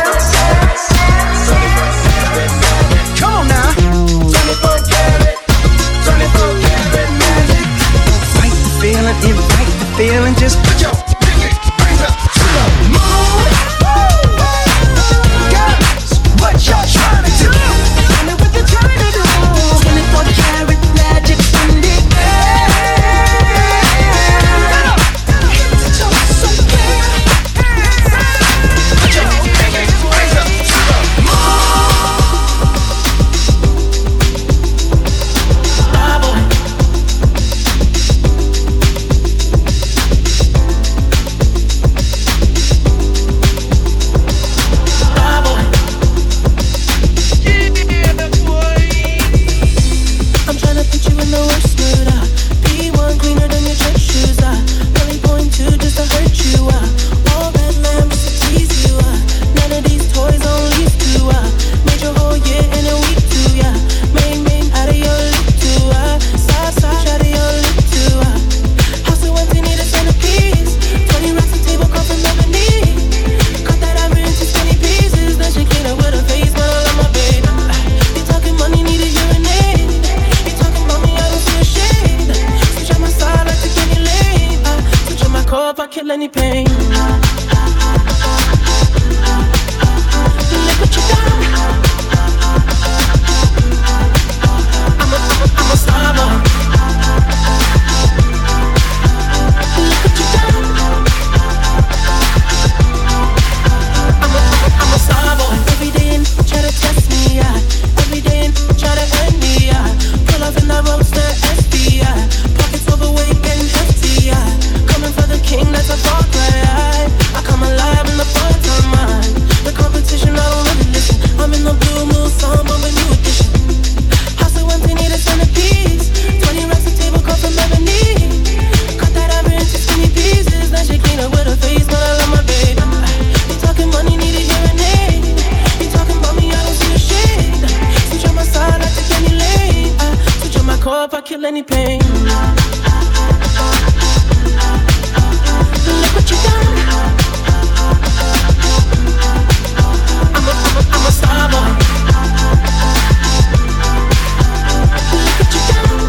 S13: Come on now. twenty-four karat, twenty-four karat magic. Fight the feeling, invite the feeling, just put your pinky rings up to the moon. Girls, what y'all trying to do? Tell me what you're trying to do. twenty-four karat magic in the air. Head to toe, so clear. Put your pinky rings up to the moon. Ah, boy. I'm tryna put you in the worst mood, uh. P one cleaner than your church shoes, uh. Really point two just to hurt you, uh. All that lamb just to tease you, uh. None of these toys on lease to, uh. Made your whole year in a week too, yeah. Main, main, out of your lip too, uh. Side, side, out of your lip too, uh. House so empty, need a centerpiece. Twenty racks of table come from ebony. Cut that ivory into skinny pieces. Then she clean up with her face, but I love my baby. Uh, you talking money, need a hearing aid. You talking about me, I don't see a shade. Switch on my side, like to get any lane. Uh, switch on my core if I kill any pain. Look what you done. I'm a, I'm a, I'm a star boy. Look what you done. I'm a, I'm a, I'm a star boy. Every day and try to test me, yeah. Every day and try to end me, yeah. Pull up in that roadster S D, yeah. Pockets overweight and hefty, yeah. Coming for the king, that's a far cry. I come alive in the full-time mind. The competition, I don't really listen. I'm in the blue moon, song, but a new edition. House so empty, need a centerpiece. Twenty racks of table come from ebony. Cut that ivory into skinny pieces. Then she clean up with her face, but I love my baby. You talking money, need a hearing aid. You talking about me, I don't see a shade. Switch on my side, I take any lane. I switch on my core if I kill any pain. Look what you done. I'm a, I'm a, I'm a star boy. Look what you done.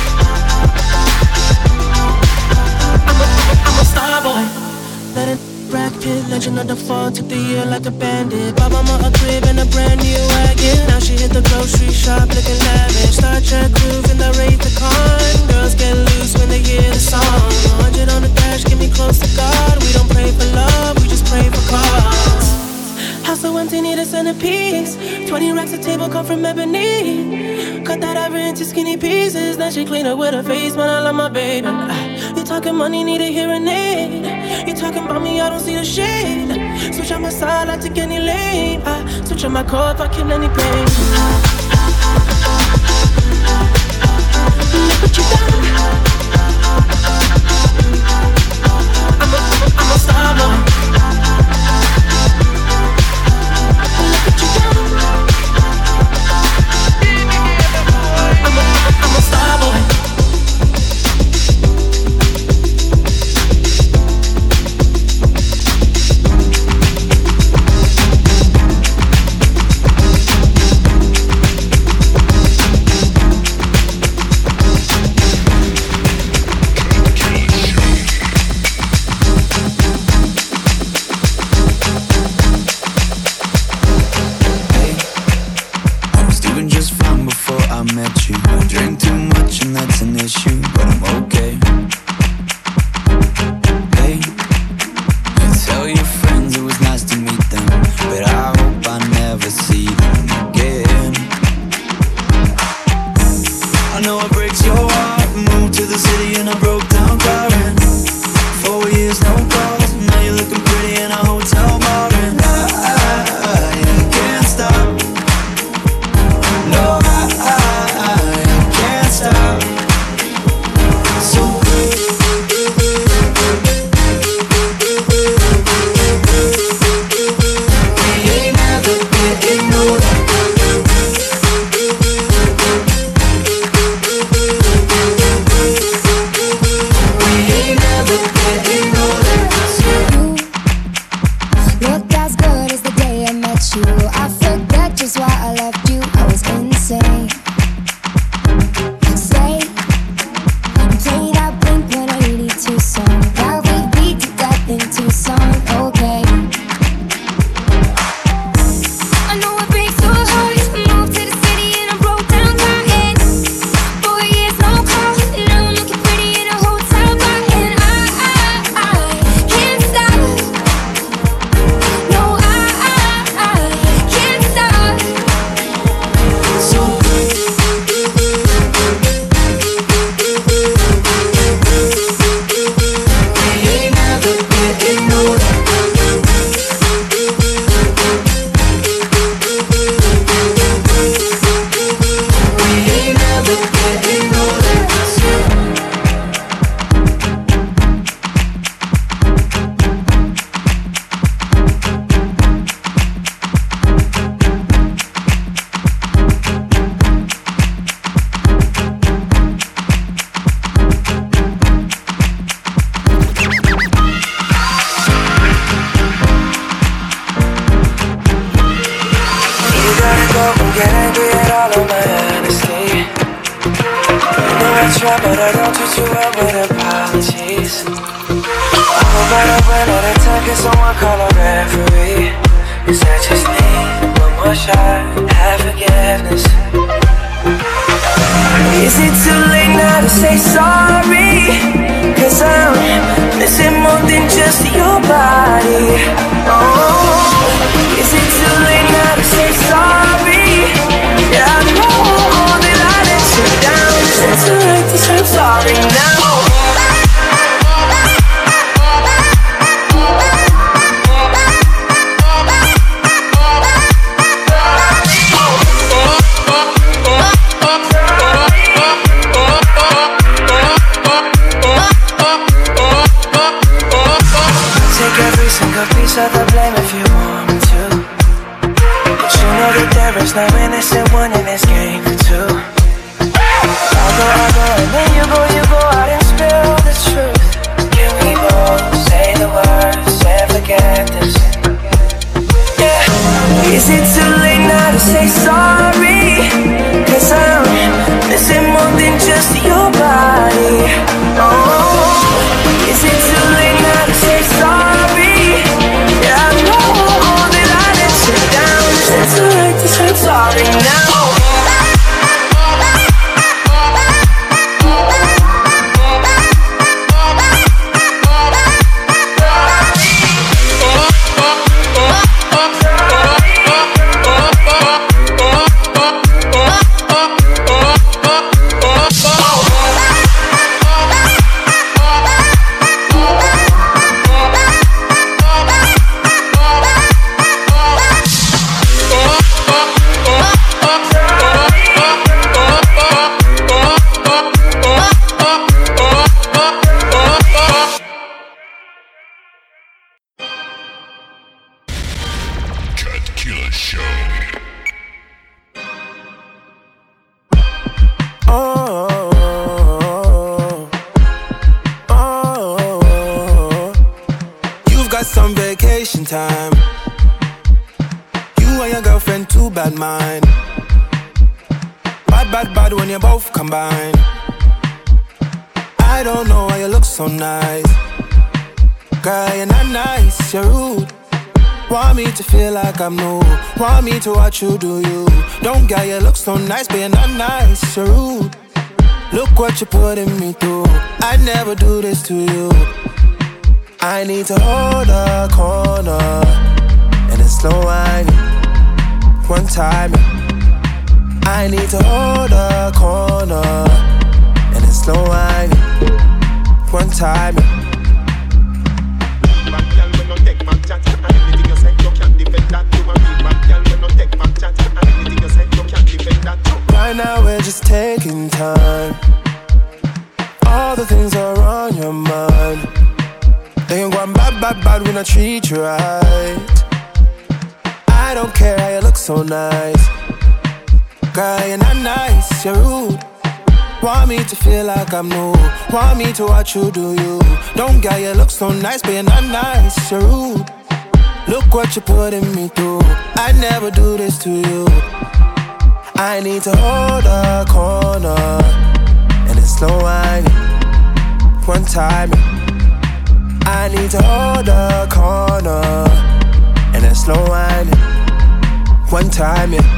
S13: I'm a, I'm a, I'm a star boy. Let it Brad Pitt, legend of the fall, took the year like a bandit. Bought mama a crib and a brand new wagon. Now she hit the grocery shop looking lavish. Star Trek groove in the Wraith the Con. Girls get loose when they hear the song. one hundred on the dash, get me close to God. We don't pray for love, we just pray for cause. House so empty, need a centerpiece. Twenty racks of table come from ebony. Cut that ivory into skinny pieces. Then she clean up with her face, man, I love my baby. You talking money, need a hearing aid. You talking about me, I don't see the shade. Switch on my side, I take any lane. I Switch on my core if I kill any pain. Look what you done. I'm a, I'm a, I'm a star boy. Look what you done. I'm a, I'm a star boy.
S16: Oh,
S22: Killer Show.
S1: Oh, oh, oh, you've got some vacation time. You and your girlfriend, too bad mind. Bad, bad, bad when you both combine. I don't know why you look so nice. Girl, you're not nice, you're rude. Want me to feel like I'm new. Want me to watch you do you. Don't get you look so nice, but you're not nice, you're rude. Look what you're putting me through. I'd never do this to you. I need to hold a corner and it's slow whining. One time, I need to hold a corner and it's slow whining. One time. Right now we're just taking time. All the things are on your mind. They ain't going bad, bad, bad when I treat you right. I don't care how you look so nice. Girl, you're not nice, you're rude. Want me to feel like I'm new. Want me to watch you do you. Don't get you look so nice, but you're not nice, you're rude. Look what you're putting me through. I'd never do this to you. I need to hold a corner and it's slow whining. One time, I need to hold a corner and it's slow whining. One time, yeah.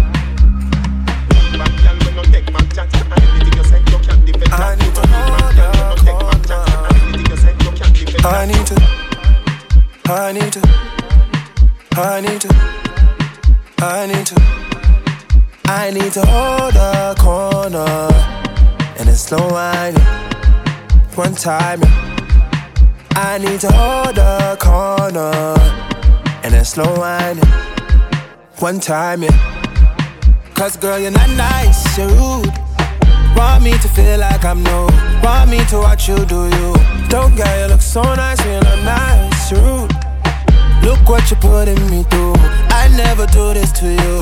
S1: I need to hold a corner. I need to, I need to, I need to, I need to, I need to hold a corner and it's slow whining. One time, I need to hold a corner and it's slow whining. One time, yeah. Cause girl, you're not nice, you're rude. Want me to feel like I'm new. Want me to watch you do you. Don't get you look so nice when you're not nice, you're rude. Look what you're putting me through. I never do this to you.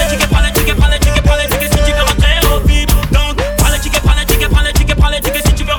S3: Si tu veux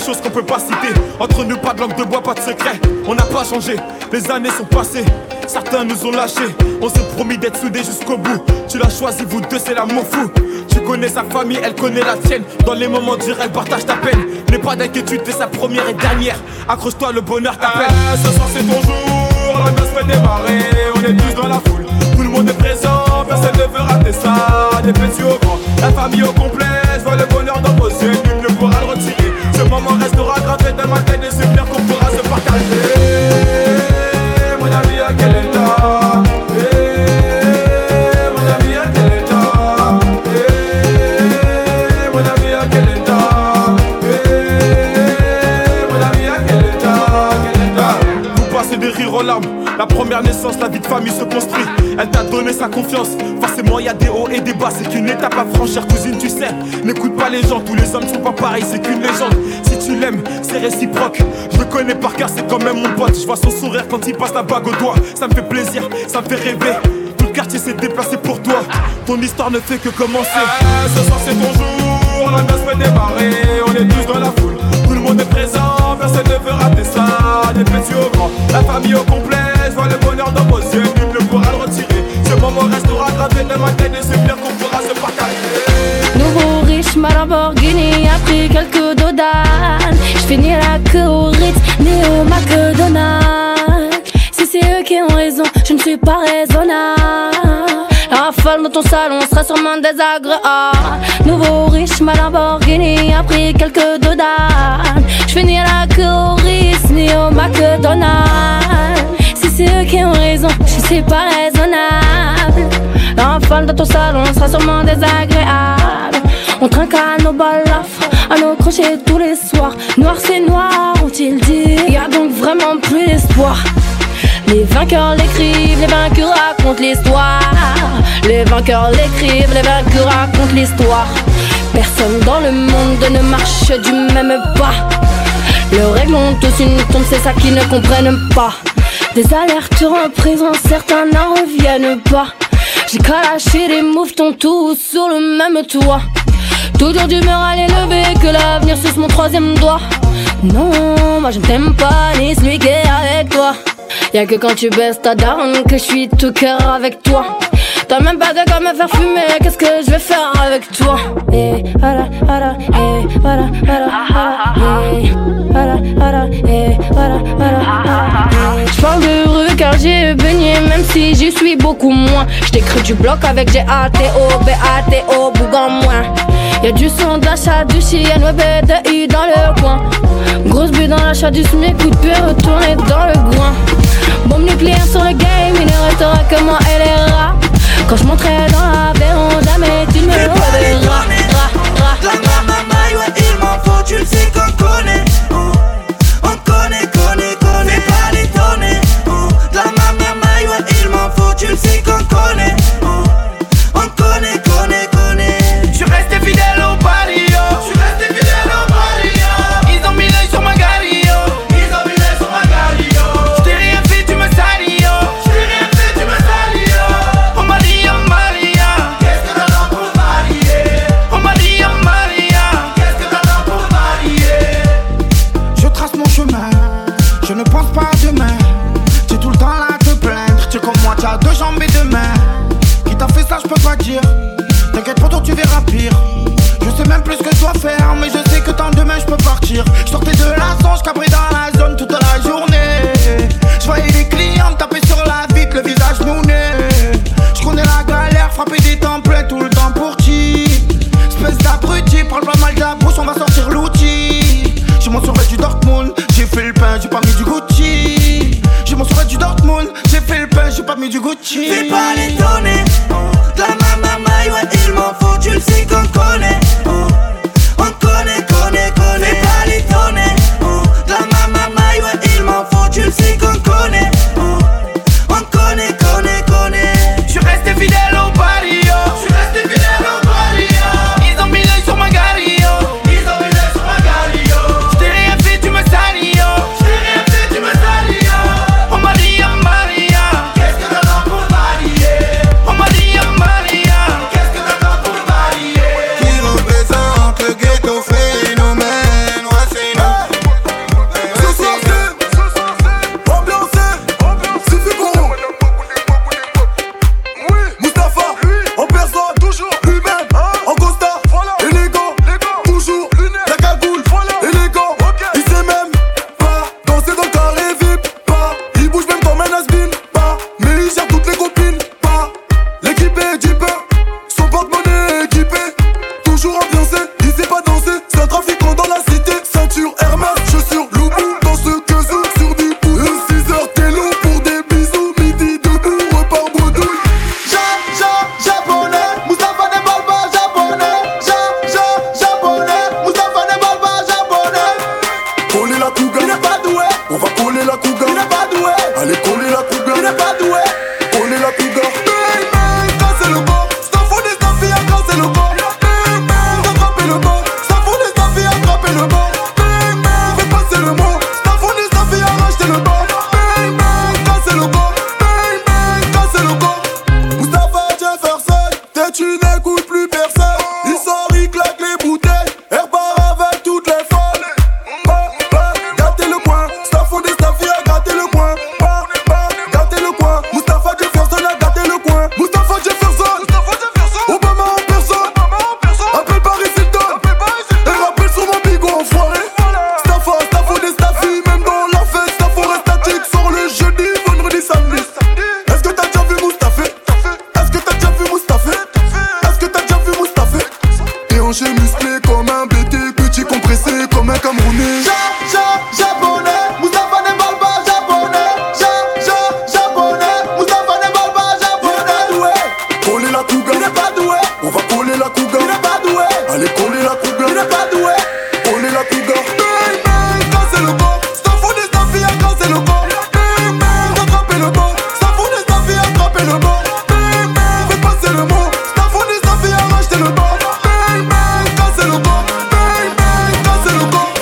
S16: choses qu'on peut pas citer. Entre nous, pas de langue de bois, pas de secret. On n'a pas changé, les années sont passées. Certains nous ont lâchés, on s'est promis d'être soudés jusqu'au bout. Tu l'as choisi, vous deux, c'est l'amour fou. Tu connais sa famille, elle connaît la tienne. Dans les moments durs, elle partage ta peine. N'aie pas d'inquiétude, t'es sa première et dernière. Accroche-toi, le bonheur t'appelle. Ah, ce soir c'est ton jour, la noce fait démarrer. On est tous dans la foule, tout le monde est présent. Personne ne veut rater ça, des petits au grand. La famille au complet, je vois le bonheur dans vos yeux. Nul ne pourra le retirer. Ce moment restera gravé dans ma tête. Des souvenirs qu'on pourra se partager. Mon ami, à quel état? Mon ami, à quel état? Mon ami, à quel état? Mon ami, à quel état? Quel état? Vous passez des rires aux larmes. La première naissance, la vie de famille se construit. Elle t'a donné sa confiance. Forcément y a des hauts et des bas. C'est qu'une étape à franchir, cousine, tu sais. N'écoute pas les gens, tous les hommes sont pas pareils. C'est qu'une légende, si tu l'aimes, c'est réciproque. Je le connais par cœur, c'est quand même mon pote. Je vois son sourire quand il passe la bague au doigt. Ça me fait plaisir, ça me fait rêver. Tout le quartier s'est déplacé pour toi. Ton histoire ne fait que commencer. Ah, ce soir c'est ton jour, la noce fait démarrer. On est tous dans la foule, tout le monde est présent. Personne ne veut rater ça, des petits au grand. La famille au complet, je vois le bonheur dans vos yeux. Nul ne pourra le retirer. Ce moment restera gravé dans ma tête. Des souvenirs qu'on pourra se partager.
S10: Nouveau riche, ma Lamborghini a pris quelques dodans. J'finis la queue au Ritz, Néo McDonald's. Si c'est eux qui ont raison, je ne suis pas raisonnable. La rafale dans ton salon sera sûrement désagréable. Nouveau riche, ma Lamborghini a pris quelques dodans. J'finis la queue au Ritz, Néo McDonald's. Si c'est eux qui ont raison, je ne suis pas raisonnable. La rafale dans ton salon sera sûrement désagréable. On trinque à nos balafres, à nos crochets tous les soirs. Noir c'est noir, ont-ils dit. Y'a donc vraiment plus d'espoir. Les vainqueurs l'écrivent, les vaincus racontent l'histoire. Les vainqueurs l'écrivent, les vaincus racontent l'histoire. Personne dans le monde ne marche du même pas. Le règles ont tous une tombe, c'est ça qu'ils ne comprennent pas. Des alertes en prison, certains n'en reviennent pas. J'ai qu'à lâcher les mouvements tous sur le même toit. Toujours d'humeur à l'élever, que l'avenir suce mon troisième doigt. Non, moi je ne t'aime pas, ni celui qui est avec toi. Y'a que quand tu baisses ta daronne que je suis tout cœur avec toi. T'as même pas de quoi me faire fumer, qu'est-ce que je vais faire avec toi? Et voilà, voilà, et voilà, voilà, voilà, et voilà, voilà, et voilà, voilà. J'parle de rue car j'ai baigné, même si j'y suis beaucoup moins. J't'écris du bloc avec G A T O, B A T O, Bougan moins. Y'a du son d'achat, du chien, web et de I dans le coin. Grosse bulle dans l'achat du smic, coup de pied retourné dans le coin. Bombe nucléaire sur le game, il ne restera que moi et les rats. Quand je monterai dans l'avion, jamais tu me reverras.
S17: La mamamaï, ouais, il m'en faut, tu le sais qu'on connaît. On connaît, connaît, connaît, fais pas l'étonner. La mamamaï, ouais, il m'en faut, tu le sais qu'on connaît. On connaît, connaît, connaît.
S18: Je suis resté fidèle au barrio. Je suis resté fidèle au barrio. Ils ont mis l'œil sur ma gario. Ils ont mis l'œil sur ma gario. Je t'ai rien fait, tu me salis, yo. Je t'ai rien fait, tu me salis, yo. On m'a dit, oh Maria, qu'est-ce que t'as dans pour marier? On m'a dit, oh Maria, qu'est-ce que t'as dans pour marier?
S21: Je trace mon chemin, je ne pense pas à demain. T'es tout le temps là à te plaindre. T'es comme moi, t'as deux jambes et deux mains. Qui t'a fait ça, je peux pas dire. T'inquiète pas, toi tu verras pire. Je sais même plus ce que je dois faire, mais je sais que tant demain je peux partir. Je sortais de la songe, cabré dans la zone toute la journée. Je voyais les clients taper sur la vitre, le visage mouné. Je connais la galère, frapper des temps pleins tout le temps pour qui. Espèce d'abruti, parle pas mal de la bouche, on va sortir l'outil. J'ai mon survêt du Dortmund, j'ai fait le pain, j'ai pas mis du Gucci. J'ai mon survêt du Dortmund, j'ai fait le pain, j'ai pas mis du Gucci.
S17: Fais pas l'étonner. La mamamaï, ouais, il m'en faut, tu le sais qu'on connaît. On connaît, connaît, connaît, fais pas l'étonner. La mamamaï, ouais, il m'en faut, tu le sais qu'on connaît. On connaît, connaît, connaît.
S18: Je suis resté fidèle au barrio. Je suis resté fidèle au barrio. Ils ont mis l'œil sur ma gario. Ils ont mis l'œil sur ma gario. Je t'ai rien fait, tu me salis, yo. Je t'ai rien fait, tu me salis, yo. On m'a dit, oh Maria, qu'est-ce que t'as dans pour marier? On m'a dit, oh
S2: n'est pas doué. On est la cougar. Bang bang, quand c'est le bon. S'en fout des affaires quand c'est le bon. Bang bang, attrapez le bon. S'en fout des affaires, attrapez le bon. Bang bang, fais passer le mot. S'en fout des affaires, rachetez le bon. Bang bang, quand c'est le bon. Bang bang, quand c'est le bon. Moustapha Jefferson, t'es tu n'écoutes plus personne. Il sort, il claque les bouteilles. Elle part avec toutes les folles. Bah, bah, gâtez le coin. S'en fout des affaires, gâtez le coin. Bah, bah, gâtez le coin. Moustapha Jefferson a gâté le coin. Moustapha Jefferson, Obama en personne. Appelle Paris Hilton. Et rappelle sur mon bigot enfoiré. Staffa, Staffo des staffis. Même dans la fête, Staffo reste statique. Sort le jeudi, vendredi, samedi. Est-ce que t'as déjà vu Moustapha? Est-ce que t'as déjà vu Moustapha? Est-ce que t'as déjà vu Moustapha? Et hanché musclé comme un B T, petit compressé comme un Camerounais. Ja, ja, japonais, Moustapha ne parle pas japonais. Ja, ja, japonais, Moustapha ne parle pas japonais. Coller la cougar, il n'est pas doué. On va coller la cougar, il n'est pas doué. Allez coller la cougar, il n'est pas doué. Coller la cougar. Bang bang, quand c'est le bon. S'en fout des affaires quand c'est le bon. Bang bang, attrapez le bon. S'en fout des affaires, attrapez le bon. Bang bang, fais passer le mot. S'en fout des affaires, rachetez le bon. Bang bang, quand c'est le bon. Bang bang, quand c'est le bon.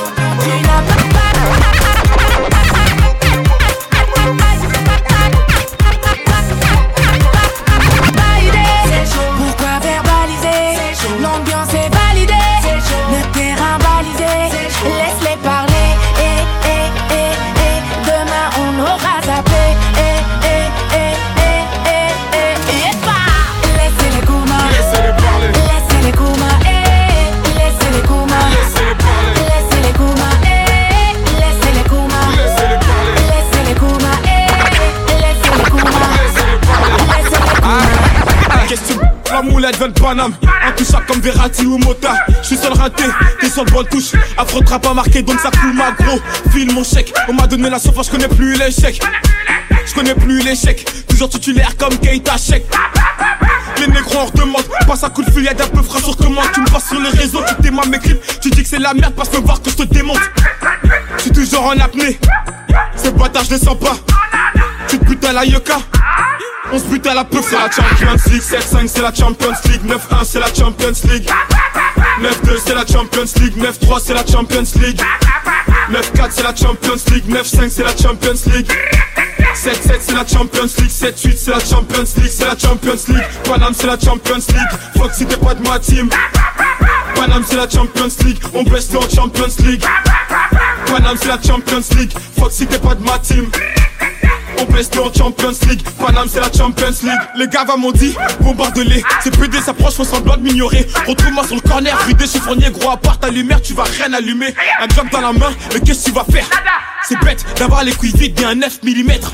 S9: Pourquoi verbaliser? L'ambiance est validée, le terrain balisé. Laisse-les parler, et, et, et, et. Demain on aura zappé, et, et, et, et, et, et, et pas. Laissez-les Kouma, laissez-les parler. Laissez-les Kouma, eh. Laissez-les Kouma, laissez-les parler. Laissez-les Kouma, eh. Laissez-les Kouma, laissez-les parler. Laissez-les Kouma, eh. Laissez-les Kouma, laissez-les parler. Laissez-les Kouma.
S16: Question la moulette vient de Paname. Intouchable comme Verratti ou Mota. J'suis seul raté, t'es sur le bon touche. Affrontera pas marqué donc ça coule ma gros. File mon chèque, on m'a donné la sauce, j'connais plus l'échec. J'connais plus l'échec, toujours titulaire comme Keita Sheik. Les négros en redemande, passe un coup de feuillade un peu frais sur commande. Tu me passes sur les réseaux, tu témoignes mes clips. Tu dis que c'est la merde, passe me voir que je te démonte. J'suis toujours en apnée, ces bâtards je les sens pas. Tu te butes à la Yoka. On se bute à la peu, c'est la Champions League. Sept cinq c'est la Champions League. Neuf un c'est la Champions League. Neuf deux c'est la Champions League. Neuf trois c'est la Champions League. Neuf quatre c'est la Champions League. Neuf cinq c'est la Champions League. Sept sept c'est la Champions League. Sept huit c'est la Champions League. C'est la Champions League. Paname c'est la Champions League. Fuck si t'es pas de ma team. Paname c'est la Champions League. On baisse en Champions League. Paname c'est la Champions League. Fuck si t'es pas de ma team. On baisse en Champions League. Paname c'est la Champions League. Les gars m'ont dit bombarde-les. C'est P D s'approche, font semblant de m'ignorer. Retrouve-moi sur le corner, vidé chiffonnier. Gros à part ta lumière, tu vas rien allumer. Un bloc dans la main, mais qu'est-ce que tu vas faire? C'est bête d'avoir les couilles vides et un neuf millimètres.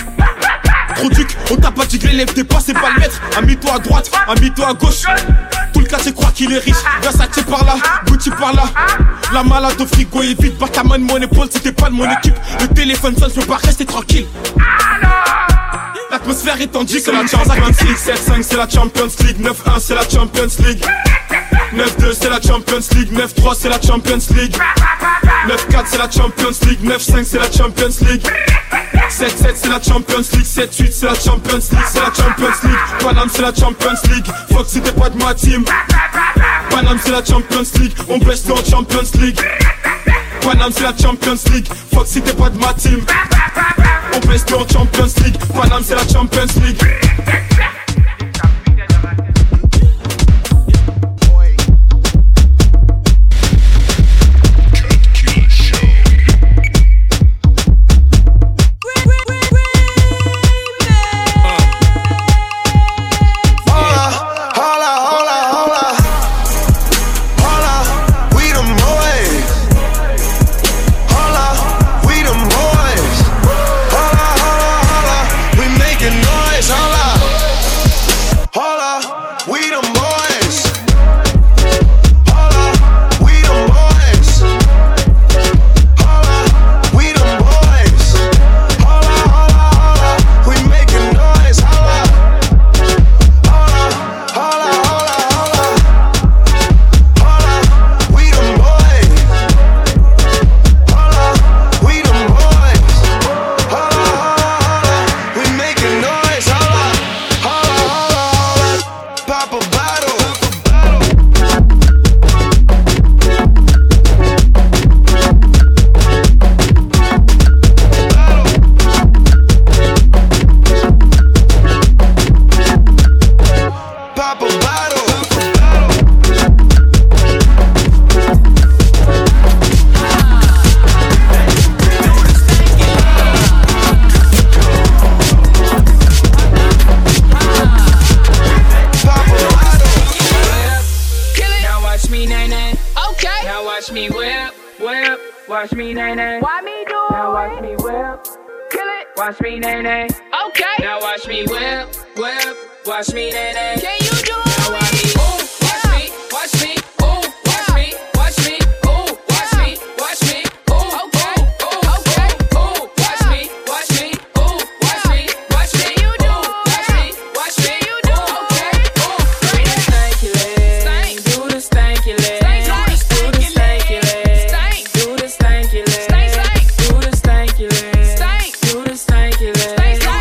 S16: Trop duc, on t'a pas dit que l'élève t'es pas, c'est pas le maître. Amie-toi à droite, amie-toi à gauche. Tout le quartier croit qu'il est riche. Versace par là, Gucci par là. La malade au frigo est vide. Pas ta main de mon épaule, c'était pas de mon équipe. Le téléphone sonne, je peux pas rester tranquille. L'atmosphère est tendue, c'est la Champions League. Sept cinq c'est la Champions League. Neuf un c'est la Champions League. Neuf deux c'est la Champions League. Neuf trois c'est la Champions League. Neuf quatre c'est la Champions League. Neuf cinq c'est la Champions League. Sept sept c'est la Champions League. Sept huit c'est la Champions League. C'est la Champions League. Paname c'est la Champions League. Fuck si t'es pas de ma team. Paname c'est la Champions League. On baisse en Champions League. Paname c'est la Champions League. Fuck si t'es pas de ma team. On baisse en Champions League. Paname c'est la Champions League.
S2: Noise, holla.
S15: watch me, nay, nay. Why me do it? Now watch me whip. Kill it. Watch me, nay, nay. Okay. Now watch me whip, whip. Watch me, nay, nay. Can you do it? Now watch me. Ooh, watch me, watch me. Ooh, watch me, watch me. Ooh, watch me, watch me. Ooh, okay, ooh, okay. Ooh, watch me, watch me. Ooh, watch me, watch me. You do. Watch me, watch me. You do. Okay. Ooh, do the stanky leg. Do the stanky leg. Do the stanky leg. Do the stanky leg. Do the stanky leg. Do the stanky leg.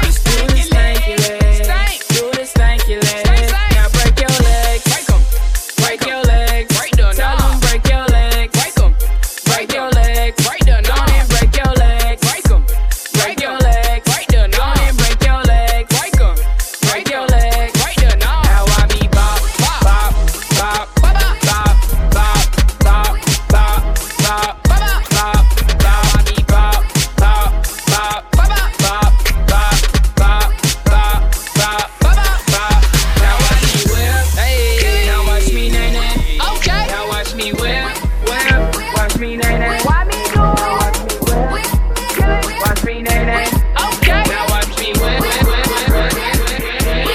S15: Do the stanky leg. Now break your legs. Break 'em. Break your legs. Tell 'em break your legs. Break 'em. Break your legs. Go on and break your legs. Break 'em. Break your legs. Go on and break your legs. Break 'em. Break your legs. Now I be bop, bop, bop, bop, bop, bop, bop, bop, bop, bop, bop, bop. Now I be bop, bop, bop, bop, bop, bop, bop, bop, bop, bop, bop, bop. Now watch me whip, hey. Now watch me nay nay. Okay. Now watch me whip, whip. Watch me nay nay. Why me do it? Now watch me whip, kill it. Watch me nay nay. Okay. Now watch me whip, whip, whip, whip, whip, whip, whip.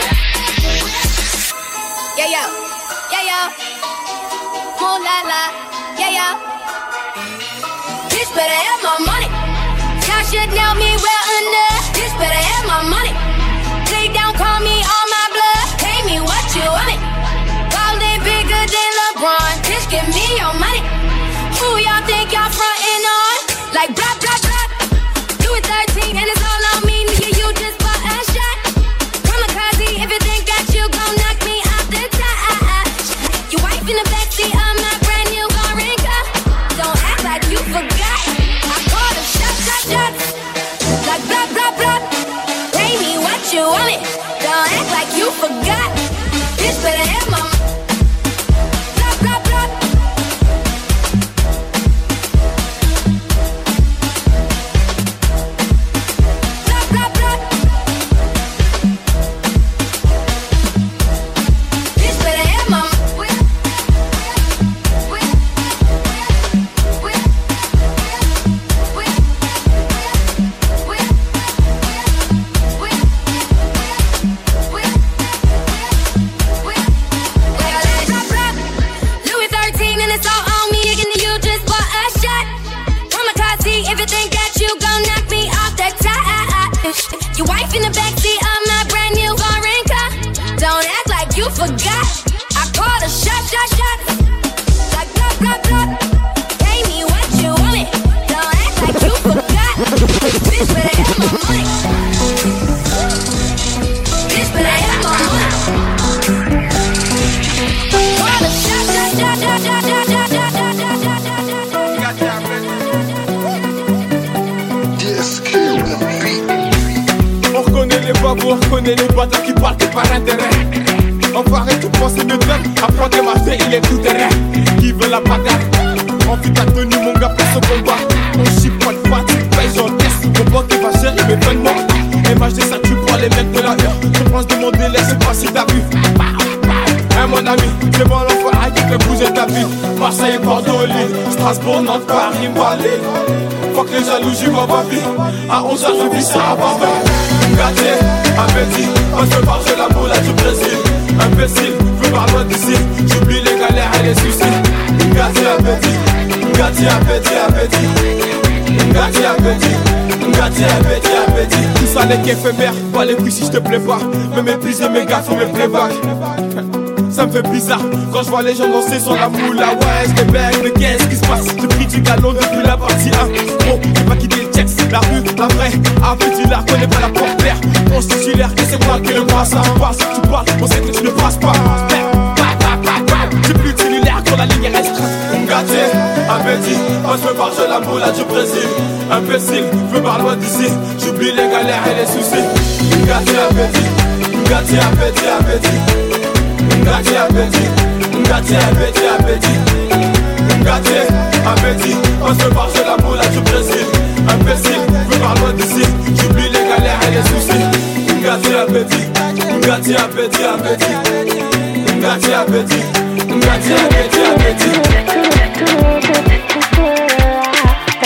S6: Yeah, yo, yeah, yo. Moon la la, yeah, yo. Bitch better have my money. Y'all should know me well enough. Bitch better have my money. Lay down, call me on my blood. Pay me what you want it. Ballin' bigger than LeBron. Bitch, give me your money. Who y'all think y'all frontin' on? Like blah, blah, blah. Do it thirteen and it's all on me. Nigga, you just bought a shot. Kamikaze, if you think that you gon' knock me off the top. Your wife in the backseat of my brand new foreign car. Don't act like you forgot. I call them shot, shot, shots. Like blah, blah, blah. Pay me what you want it. Don't act like you forgot. Bitch better have my blah, blah, blah. Blah, blah, blah. Bitch better have my Louis thirteen and it's all on me. Again, you just bought a shot. Kamikaze, if you think that you gon' knock me off the top. Your wife in the backseat of my brand new foreign car. Don't act like you forgot. I call the shot, shot, shot. Like blah, blah, blah. Pay me what you want it. Don't act like you forgot. Bitch better have my money. Bitch better have my money. Call the shot, shot, shot, shot, shot, shot, shot, shot, shot, shot,
S16: On reconnaît les babous, on reconnaît les bâtards qui partent par intérêt. Enfoiré, tout penser de même. Apprends des marseilles, il est tout terrain. Qui veut la bagarre? Enfuis ta tenue, mon gars, pour ce combat. On chipote pas, tu payes, j'encaisse. Mon pote est pas cher, il me fait de moi. M H D, ça tu prends les mecs de la heure. Je pense de mon délai, c'est pas si t'as vu. Hein, mon ami, c'est bon l'enfoiré qui fait bouger ta vie. Marseille, Bordeaux, Lille, Strasbourg, Nantes, Paris, Malais. Faut que les jaloux, j'y vois ma vie. À onze heures, je vis ça à Barbel. Gâté, appétit, quand je marche la boule là du Brésil. Imbécile, je veux pas loin d'ici. J'oublie les galères et les soucis. Gâté, appétit, gâté, appétit, appétit. Gâté, appétit, gâté, appétit, appétit. Tout ça n'est qu'éphémère, pas les couilles si je te plais pas. Me mépriser mes gars, faut me playback. Ça me fait bizarre quand je vois les gens danser sur la moula. Ouais, je bec, mais qu'est-ce qui se passe? J'ai pris du galon depuis la partie un. Gros, j'ai pas quitté le texte, la rue, la vraie. Appétit, la connais pas la porte-terre. On se titulaire, que c'est moi qui le passe. Ça passe, tu parles, on sait que tu ne passes pas. J'ai plus de cellulaire quand la ligne est restreinte. Gâté, appétit, quand je me parle de la moula du Brésil. Imbécile, je me parle loin d'ici. J'oublie les galères et les soucis. Gâté, appétit, gâté, appétit, appétit. Gâté, appétit, gâté, appétit, appétit. Gâté, appétit, on se marche de la boule du Brésil. Imbécile, je parle loin d'ici. J'oublie les galères et les soucis. Gâté, appétit, gâté, appétit, appétit. Gâté, appétit, gâté, appétit, appétit.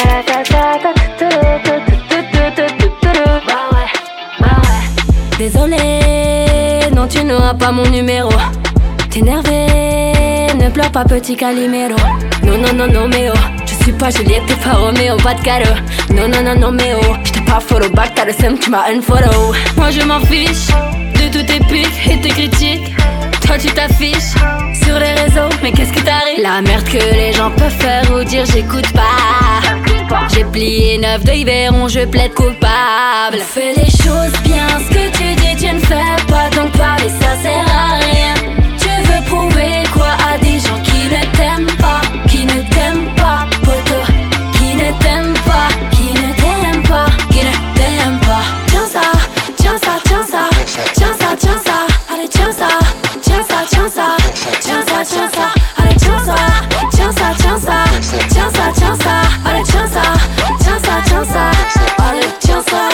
S5: Désolé, non tu n'auras pas mon numéro. T'es énervé, ne pleure pas petit Calimero. Non non non non mais oh, je suis pas Juliette, t'es pas Roméo, pas de cadeau. Non non non non mais oh, j't'ai pas follow back, t'as le seum, tu m'as unfollow. Moi je m'en fiche de tous tes pics et tes critiques. Toi tu t'affiches sur les réseaux, mais qu'est-ce qui t'arrive? La merde que les gens peuvent faire ou dire j'écoute pas. J'ai plié neuf de Yveron, je plaide coupable. Fais les choses bien, ce que tu dis tu ne fais pas. Donc parler ça sert à rien. Tu veux prouver quoi à des gens qui ne t'aiment pas, qui ne t'aiment pas, poto, qui ne t'aiment pas, qui ne t'aiment pas, qui ne t'aiment pas. Tiens ça, tiens ça, tiens ça, tiens ça, tiens ça, allez tiens ça, tiens ça, tiens ça, tiens ça, tiens ça, allez tiens ça, tiens ça, tiens ça, tiens ça, tiens ça, allez tiens ça, tiens ça, tiens ça, allez tiens ça.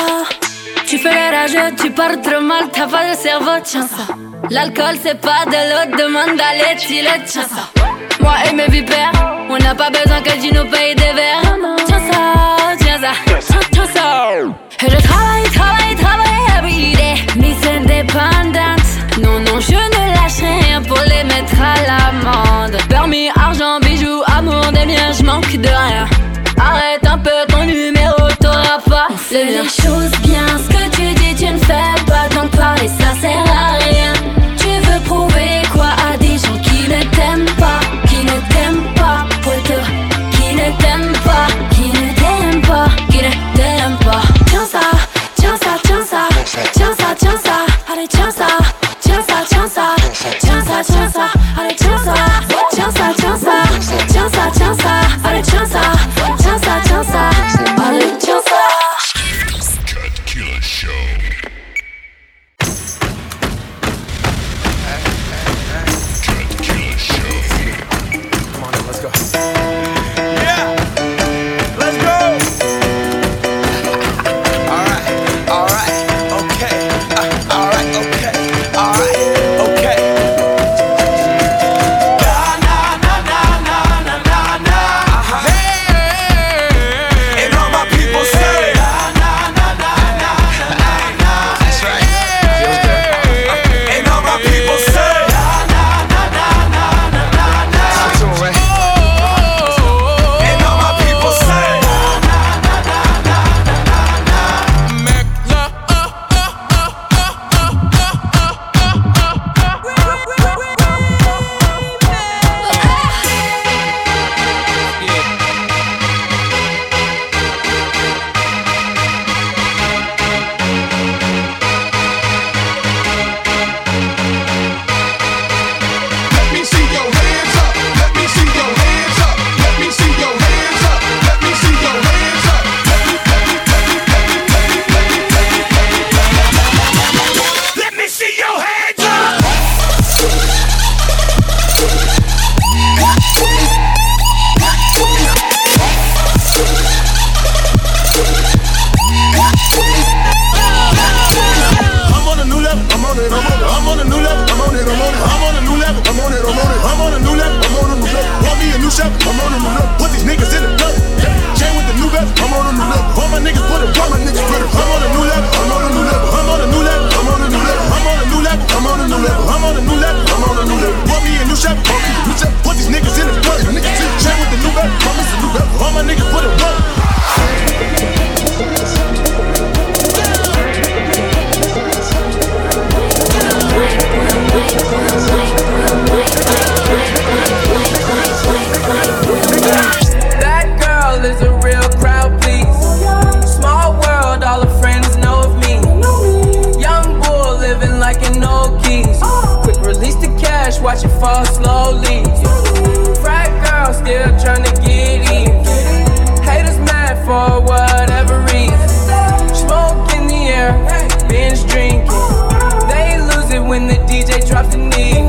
S5: Tu fais les rageux, tu parles trop mal, t'as pas de cerveau, tiens ça. L'alcool c'est pas de l'eau, demande à l'éthylène, tiens ça. Moi et mes vipères, on n'a pas besoin que tu nous payes des verres. Tiens ça, tiens ça, tiens ça. Et je travaille, travaille, travaille everyday, Miss indépendante. Non, non, je ne lâche rien pour les mettre à l'amende. Permis, argent, bijoux, amour des miens, je manque de rien. Arrête un peu ton numéro, t'auras pas. Fais les choses bien, ce que tu dis tu ne fais pas. Donc parler ça sert à rien. Tu veux prouver quoi à des gens qui ne t'aiment pas, qui ne t'aiment pas, poto, qui ne t'aiment pas, qui ne t'aiment pas, qui ne t'aiment pas. Tiens ça, tiens ça, tiens ça, tiens ça, tiens ça, allez tiens ça, tiens ça, tiens ça, tiens ça, tiens ça, allez tiens ça, tiens ça, tiens ça, tiens ça, tiens ça, allez tiens ça, tiens ça, tiens ça, allez tiens ça.
S22: Cut Killer Show. Cut Killer Show.
S20: Come on, let's go. Yeah, let's go. All right, all right, okay. Uh, all right, okay, all right, okay. Na na na na na na na na. Uh-huh. Hey, and all my people say na na na na na na na. That's right. Feels good. And all my people say na na na na na na na na. That's all right. And all my people say na na na na na na na. Make love.
S23: Let me see your hands up. Let me see your hands up. Let me see your hands up. Let me see your hands up. Let me, let me, let me, let me, let me, let me, let me, let me. Let me see your hands up.
S20: I'm on a new level. I'm on it. I'm on it. I'm on a new level. I'm on it. I'm on it. I'm on a new level. I'm on it. I'm on it. I'm on a new level. I'm on a new level. Want me a new chef? I'm on a new level. Put these niggas in the club. Chain with the new vest. I'm on a new level. All my niggas put it. All my niggas put it. I'm on a new level. I'm on a new level. I'm on a new level. I'm on a new level. I'm on a new level. I'm on a new level. I'm on a new level. I'm on a new level. Want me a new chef? Want me a new chef? Put these niggas in the club. Niggas in chain with the new vest. Promise a new vest. All my niggas put it. Work.
S15: That girl is a real crowd, please. Small world, all her friends know of me. Young bull living like an old keys. Quick release the cash, watch it fall slowly. Frat girl still trying to get in. Haters mad for whatever reason. Smoke in the air, binge drinking. They lose it when the D J drops the knee.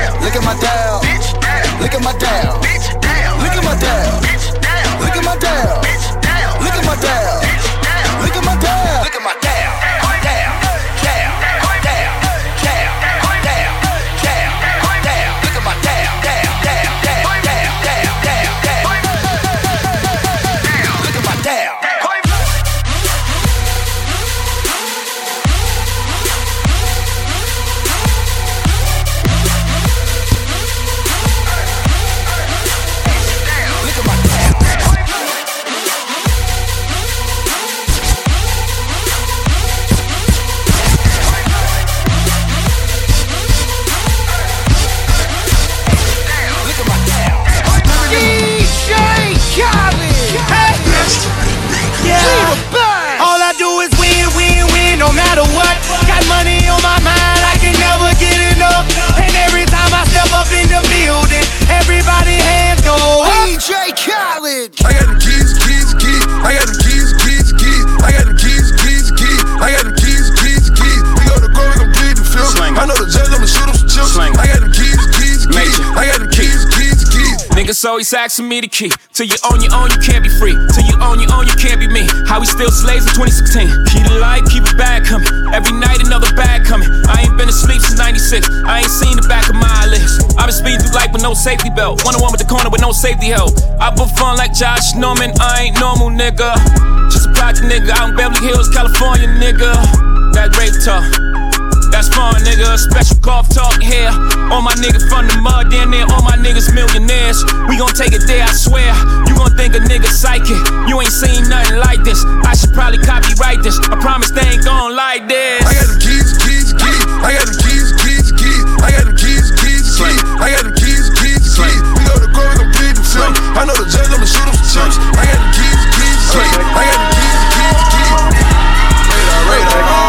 S2: Look at my dial. Look at my dial. Look at my dial. Look at my dial. Look at my dial. Look at my dial. Look at my dial. Dial. Dial. Dial. Dial. Dial. Dial. Dial. Look at my dial. Dial. Dial. Dial. Dial. Dial. Dial. Dial. Look at my dial.
S18: All I do is win, win, win, no matter what. Got money on my mind, I can never get enough. And every time I step up in the building, everybody hands go up.
S2: D J Khaled.
S20: I got the keys, keys, keys. I got the keys, keys, keys. I got the keys, keys, keys. I got the keys, keys, keys. We go to go, we gon' plead the field. I know the judge, I'ma shoot him some chips. I got the keys, keys, keys. I got the keys, keys, keys.
S4: Niggas always asking me the key. Till you own your own, you can't be free. Till you own your own, you can't be me. How we still slaves in twenty sixteen. Keep the light, keep it bag coming. Every night another bag coming. I ain't been asleep since ninety-six. I ain't seen the back of my eyelids. I been speeding through life with no safety belt. One on one with the corner with no safety help. I put fun like Josh Norman. I ain't normal, nigga. Just a project nigga out in Beverly Hills, California, nigga. That rape talk. That's fun, nigga. Special golf talk here. All my niggas from the mud, down there. All my niggas millionaires. We gon' take it there, I swear. You gon' think a nigga psychic. You ain't seen nothing like this. I should probably copyright this. I promise they ain't gon' like this.
S20: I got the keys, keys, keys. I got the keys, keys, keys. I got the keys, keys, keys. I got the keys, keys, keys. We go to go, we gon' plead the film. I know the judge, I'ma shoot him some chips. I got the keys, keys, keys. I got the keys, keys, keys. Radar, radar.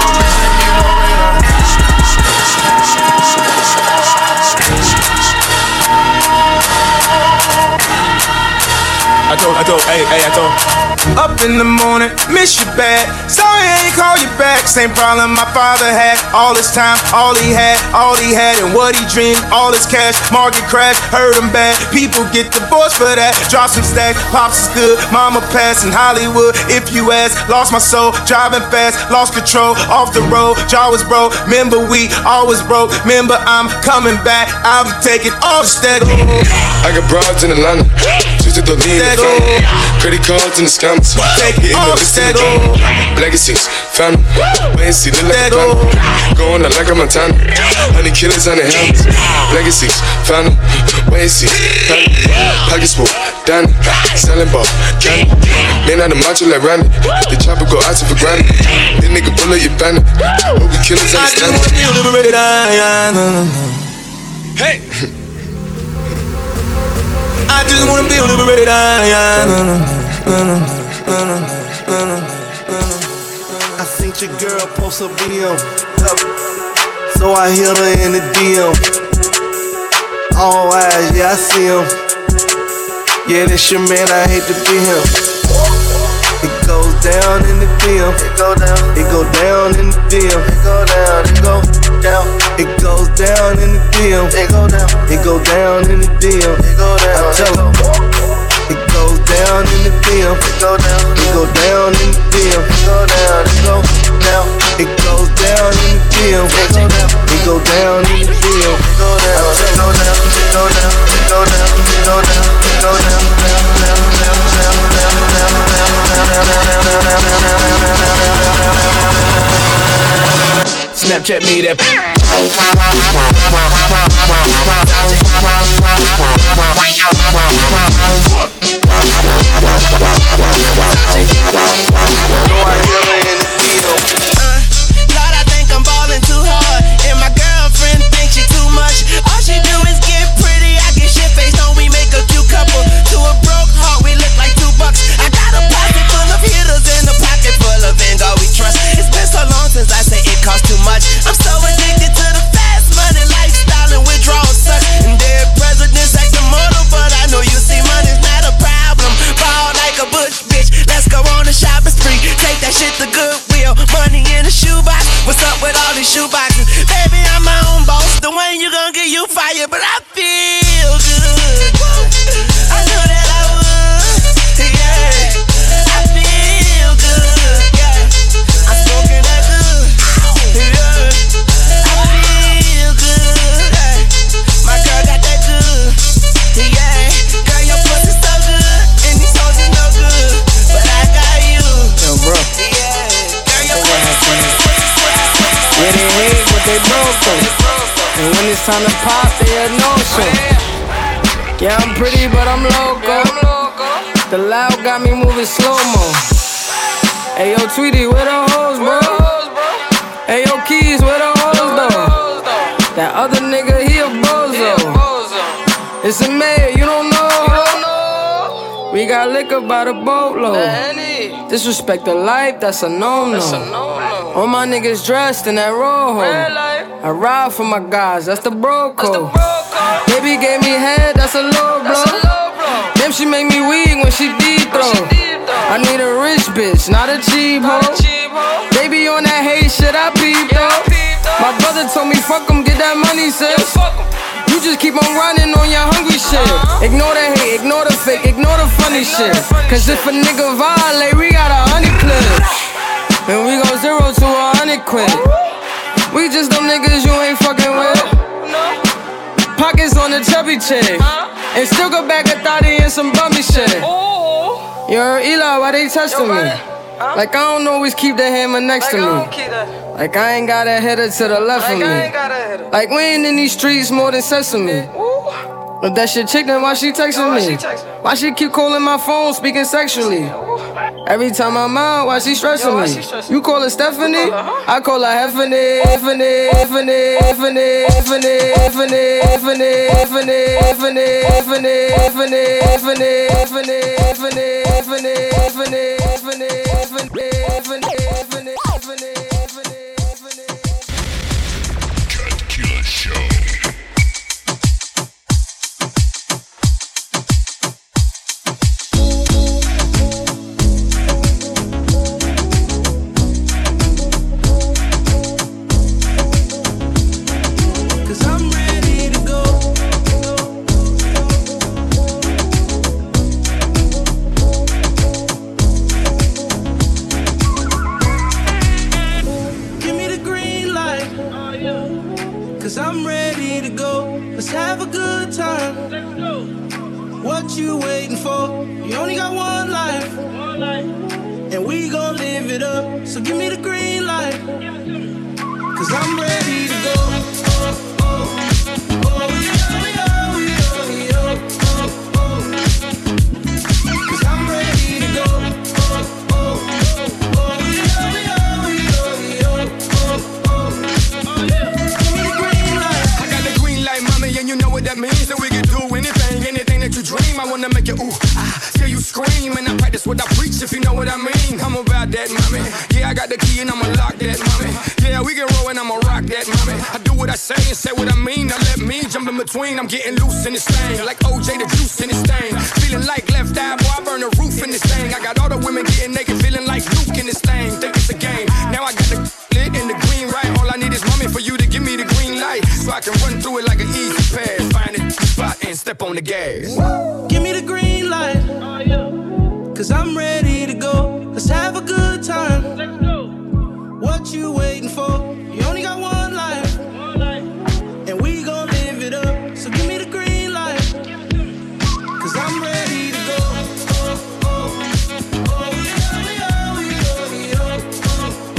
S16: I told, I told, hey, hey, I told.
S18: Up in the morning, miss you bad. Sorry I ain't call you back. Same problem my father had. All his time, all he had, all he had, and what he dreamed. All his cash, market crash, hurt him bad. People get divorced for that. Drop some stacks, pops is good. Mama passed in Hollywood. If you ask, lost my soul, driving fast, lost control, off the road. Jaw was broke. Remember we always broke. Remember I'm coming back. I'm taking all the stack.
S20: I got broads in Atlanta. Just to the lean. Credit cards in the scams. Hitting the list in the game. Legacies, family. Wait and see, look like a plan. Going out like a Montana. Honey killers on the helmets. Legacies, family. Wait and see, family. Pockets full, Danny. Selling ball, candy. Man out the macho like Randy. The chopper go out to for granted. This nigga bullet your bandit. What we killers understand.
S18: Hey! I just wanna be liberated.
S14: I seen your girl post a video, so I hit her in the D M. All eyes, yeah, I see him. Yeah, this your man, I hate to be him. It goes down in the D M. It go down. It go down in the D M. It go down. It go down. It goes down in the D M. It go down. It go down in the D M. It go down. I tell him. It goes down in the D M. It go down. It go down in the D M. It go down. It go down. It goes down in the D M. It go down. It go down in the D M. It go down. It go down. It go down. It go down. It go down. It go down.
S18: Snapchat me that. Lord, I think I'm ballin' too hard, and my girlfriend thinks she too much. All she do is get pretty. I get shit faced on. We make a cute couple. To a broke heart, we look like two bucks. I got a pocket full of hitters and a pocket full of Vanguard we trust. It's been so long since I say it costs too much. I'm so addicted to the fast money. yeah, but I feel good. I knew that I would, yeah. I feel good, yeah. I'm smoking that good, yeah. I feel good, yeah. My girl got that good, yeah. Girl, your pussy so good, and these hoes is no good, but I got you.
S7: Yo, bro.
S18: Yeah, girl, your pussy so good.
S7: Yeah, they hate, but they broke though. And when it's time to pop, they a no-show. Yeah, I'm pretty, but I'm loco. The loud got me moving slow-mo. Hey, yo, Tweety, where the hoes, bro? Hey, yo, Keys, where the hoes, though? That other nigga, he a bozo. It's a mayor, you don't know. We got liquor by the boatload. Disrespect the life, that's a no-no. All my niggas dressed in that rojo. I ride for my guys, that's the bro code. Baby gave me head, that's a low blow. Damn, she make me weak when she deep throw. I need a rich bitch, not a cheap hoe. Baby on that hate shit, I peep though. My brother told me fuck em, get that money, sis. You just keep on running on your hungry shit. Ignore the hate, ignore the fake, ignore the funny shit. Cause if a nigga violate, we got a honey clip. And we go zero to a hundred quid. We just them niggas you ain't fucking with. Pockets on the chubby chick. And still go back a thotty and some bummy shit. You heard Eli, why they testing me? Like I don't always keep the hammer next to me. Like I ain't got a header to the left of me. Like we ain't in these streets more than sesame. But that shit chick, then why she texting me? Why she keep calling my phone, speaking sexually? Every time I'm out, why she stressing me? You call her Stephanie? I call her Heffany, Heffany, Heffany, Heffany, Heffany, Heffany, Heffany, Heffany, Heffany, Heffany, Heffany, Heffany, Heffany, Heffany, Heffany, Heffany, Heffany, Heffany, Heffany, Heffany.
S22: Cut Killer Show.
S17: What you waiting for? You only got one life, and we gon' live it up. So give me the green light, cause I'm ready to go. Oh, oh, oh, yo, yo, yo, yo, oh, oh. Cause I'm ready to go. Oh, oh, oh, yo, yo, yo, yo, oh, oh. Give me the green light.
S8: I got the green light, mommy, and you know what that means. That we can do anything, anything that you dream. I wanna make you ooh, ah, till you scream. And I practice what I preach, if you know what I mean. I'm about that, mommy. Yeah, I got the key and I'ma lock that, mommy. Yeah, we can roll and I'ma rock that, mommy. I do what I say and say what I mean. Now let me jump in between. I'm getting loose in this thing, like O J the juice in this thing. Feeling like left eye, boy, I burn the roof in this thing. I got all the women getting naked, feeling like Luke in this thing. Think it's a game. Now I got the lit and the green right. All I need is mommy for you to give me the green light, so I can run through it like an easy pass. Find a spot and step on the gas.
S17: Give me the green light, cause I'm ready to go. Let's have a good time. What you waiting for? You only got one life, and we gon' live it up. So give me the green light, cause I'm ready to go. Oh, oh, oh, yo, yo, yo, yo, oh,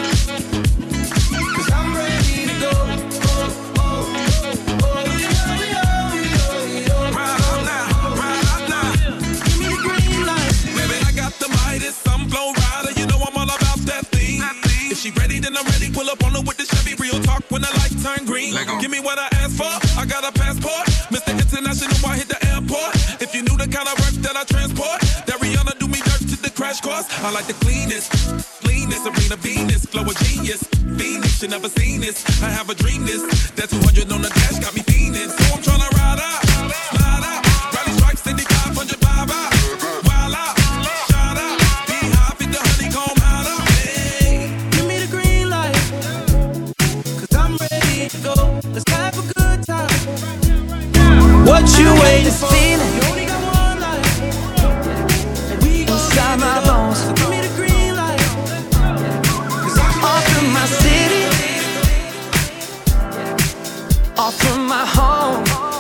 S17: oh. Cause I'm ready to go. Oh, oh, oh, yo, yo, yo, yo.
S18: Right now, right now.
S17: Give me the green light.
S18: Baby, I got the Midas, some flow rider. You know I'm all about that thing. If she ready, then I'm ready. Pull up on her with the Chevy. Real talk when the lights turn green. Give me what I asked for. I got a passport. Mister International, I hit the airport. If you knew the kind of work that I transport, that Rihanna do me dirt to the crash course. I like the cleanest, cleanest, Serena Venus, flow a genius. Phoenix, you never seen this. I have a dream this. That two hundred on the dash got me fiending. So I'm tryna ride out, slide out. Rally stripes, seventy-five hundred, vibe out. Wild out, shout out. Be high, fit the honeycomb out out. Hey.
S17: Give me the green light, cause I'm ready to go. Let's have a good time.
S1: what you waiting for? Inside my bones. Off from my city, off from my home.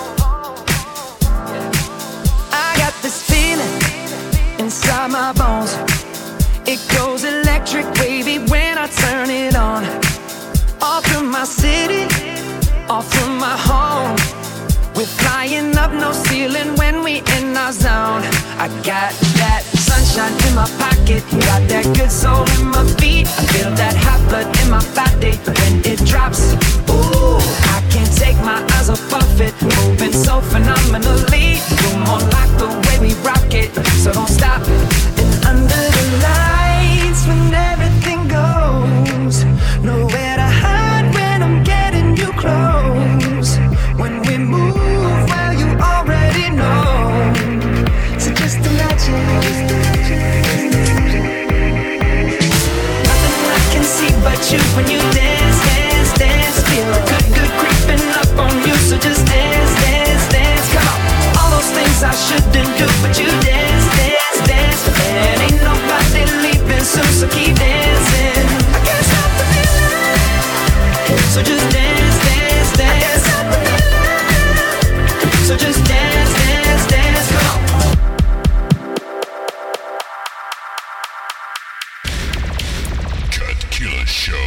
S1: I got this feeling inside my bones. It goes electric wavy when I turn it on. Off from my city, off from my home. We're flying up, no ceiling when we in our zone. I got that sunshine in my pocket, got that good soul in my feet. I feel that hot blood in my body when it drops. Ooh, I can't take my eyes off of it, moving so phenomenally. You're more like the way we rock it, so don't stop. And under the lights, when everything goes, nowhere to hide when I'm getting you close. When we move, well, you already know. So just imagine. Nothing I can see but you when you dance, dance, dance. Feel a good, good creeping up on you. So just dance, dance, dance. Come on. All those things I shouldn't do, but you dance, dance, dance. And ain't nobody leaving soon, so keep dancing. I can't stop the feeling. So just dance, dance, dance. So just dance, dance, dance, come on.
S22: Cut Killer Show.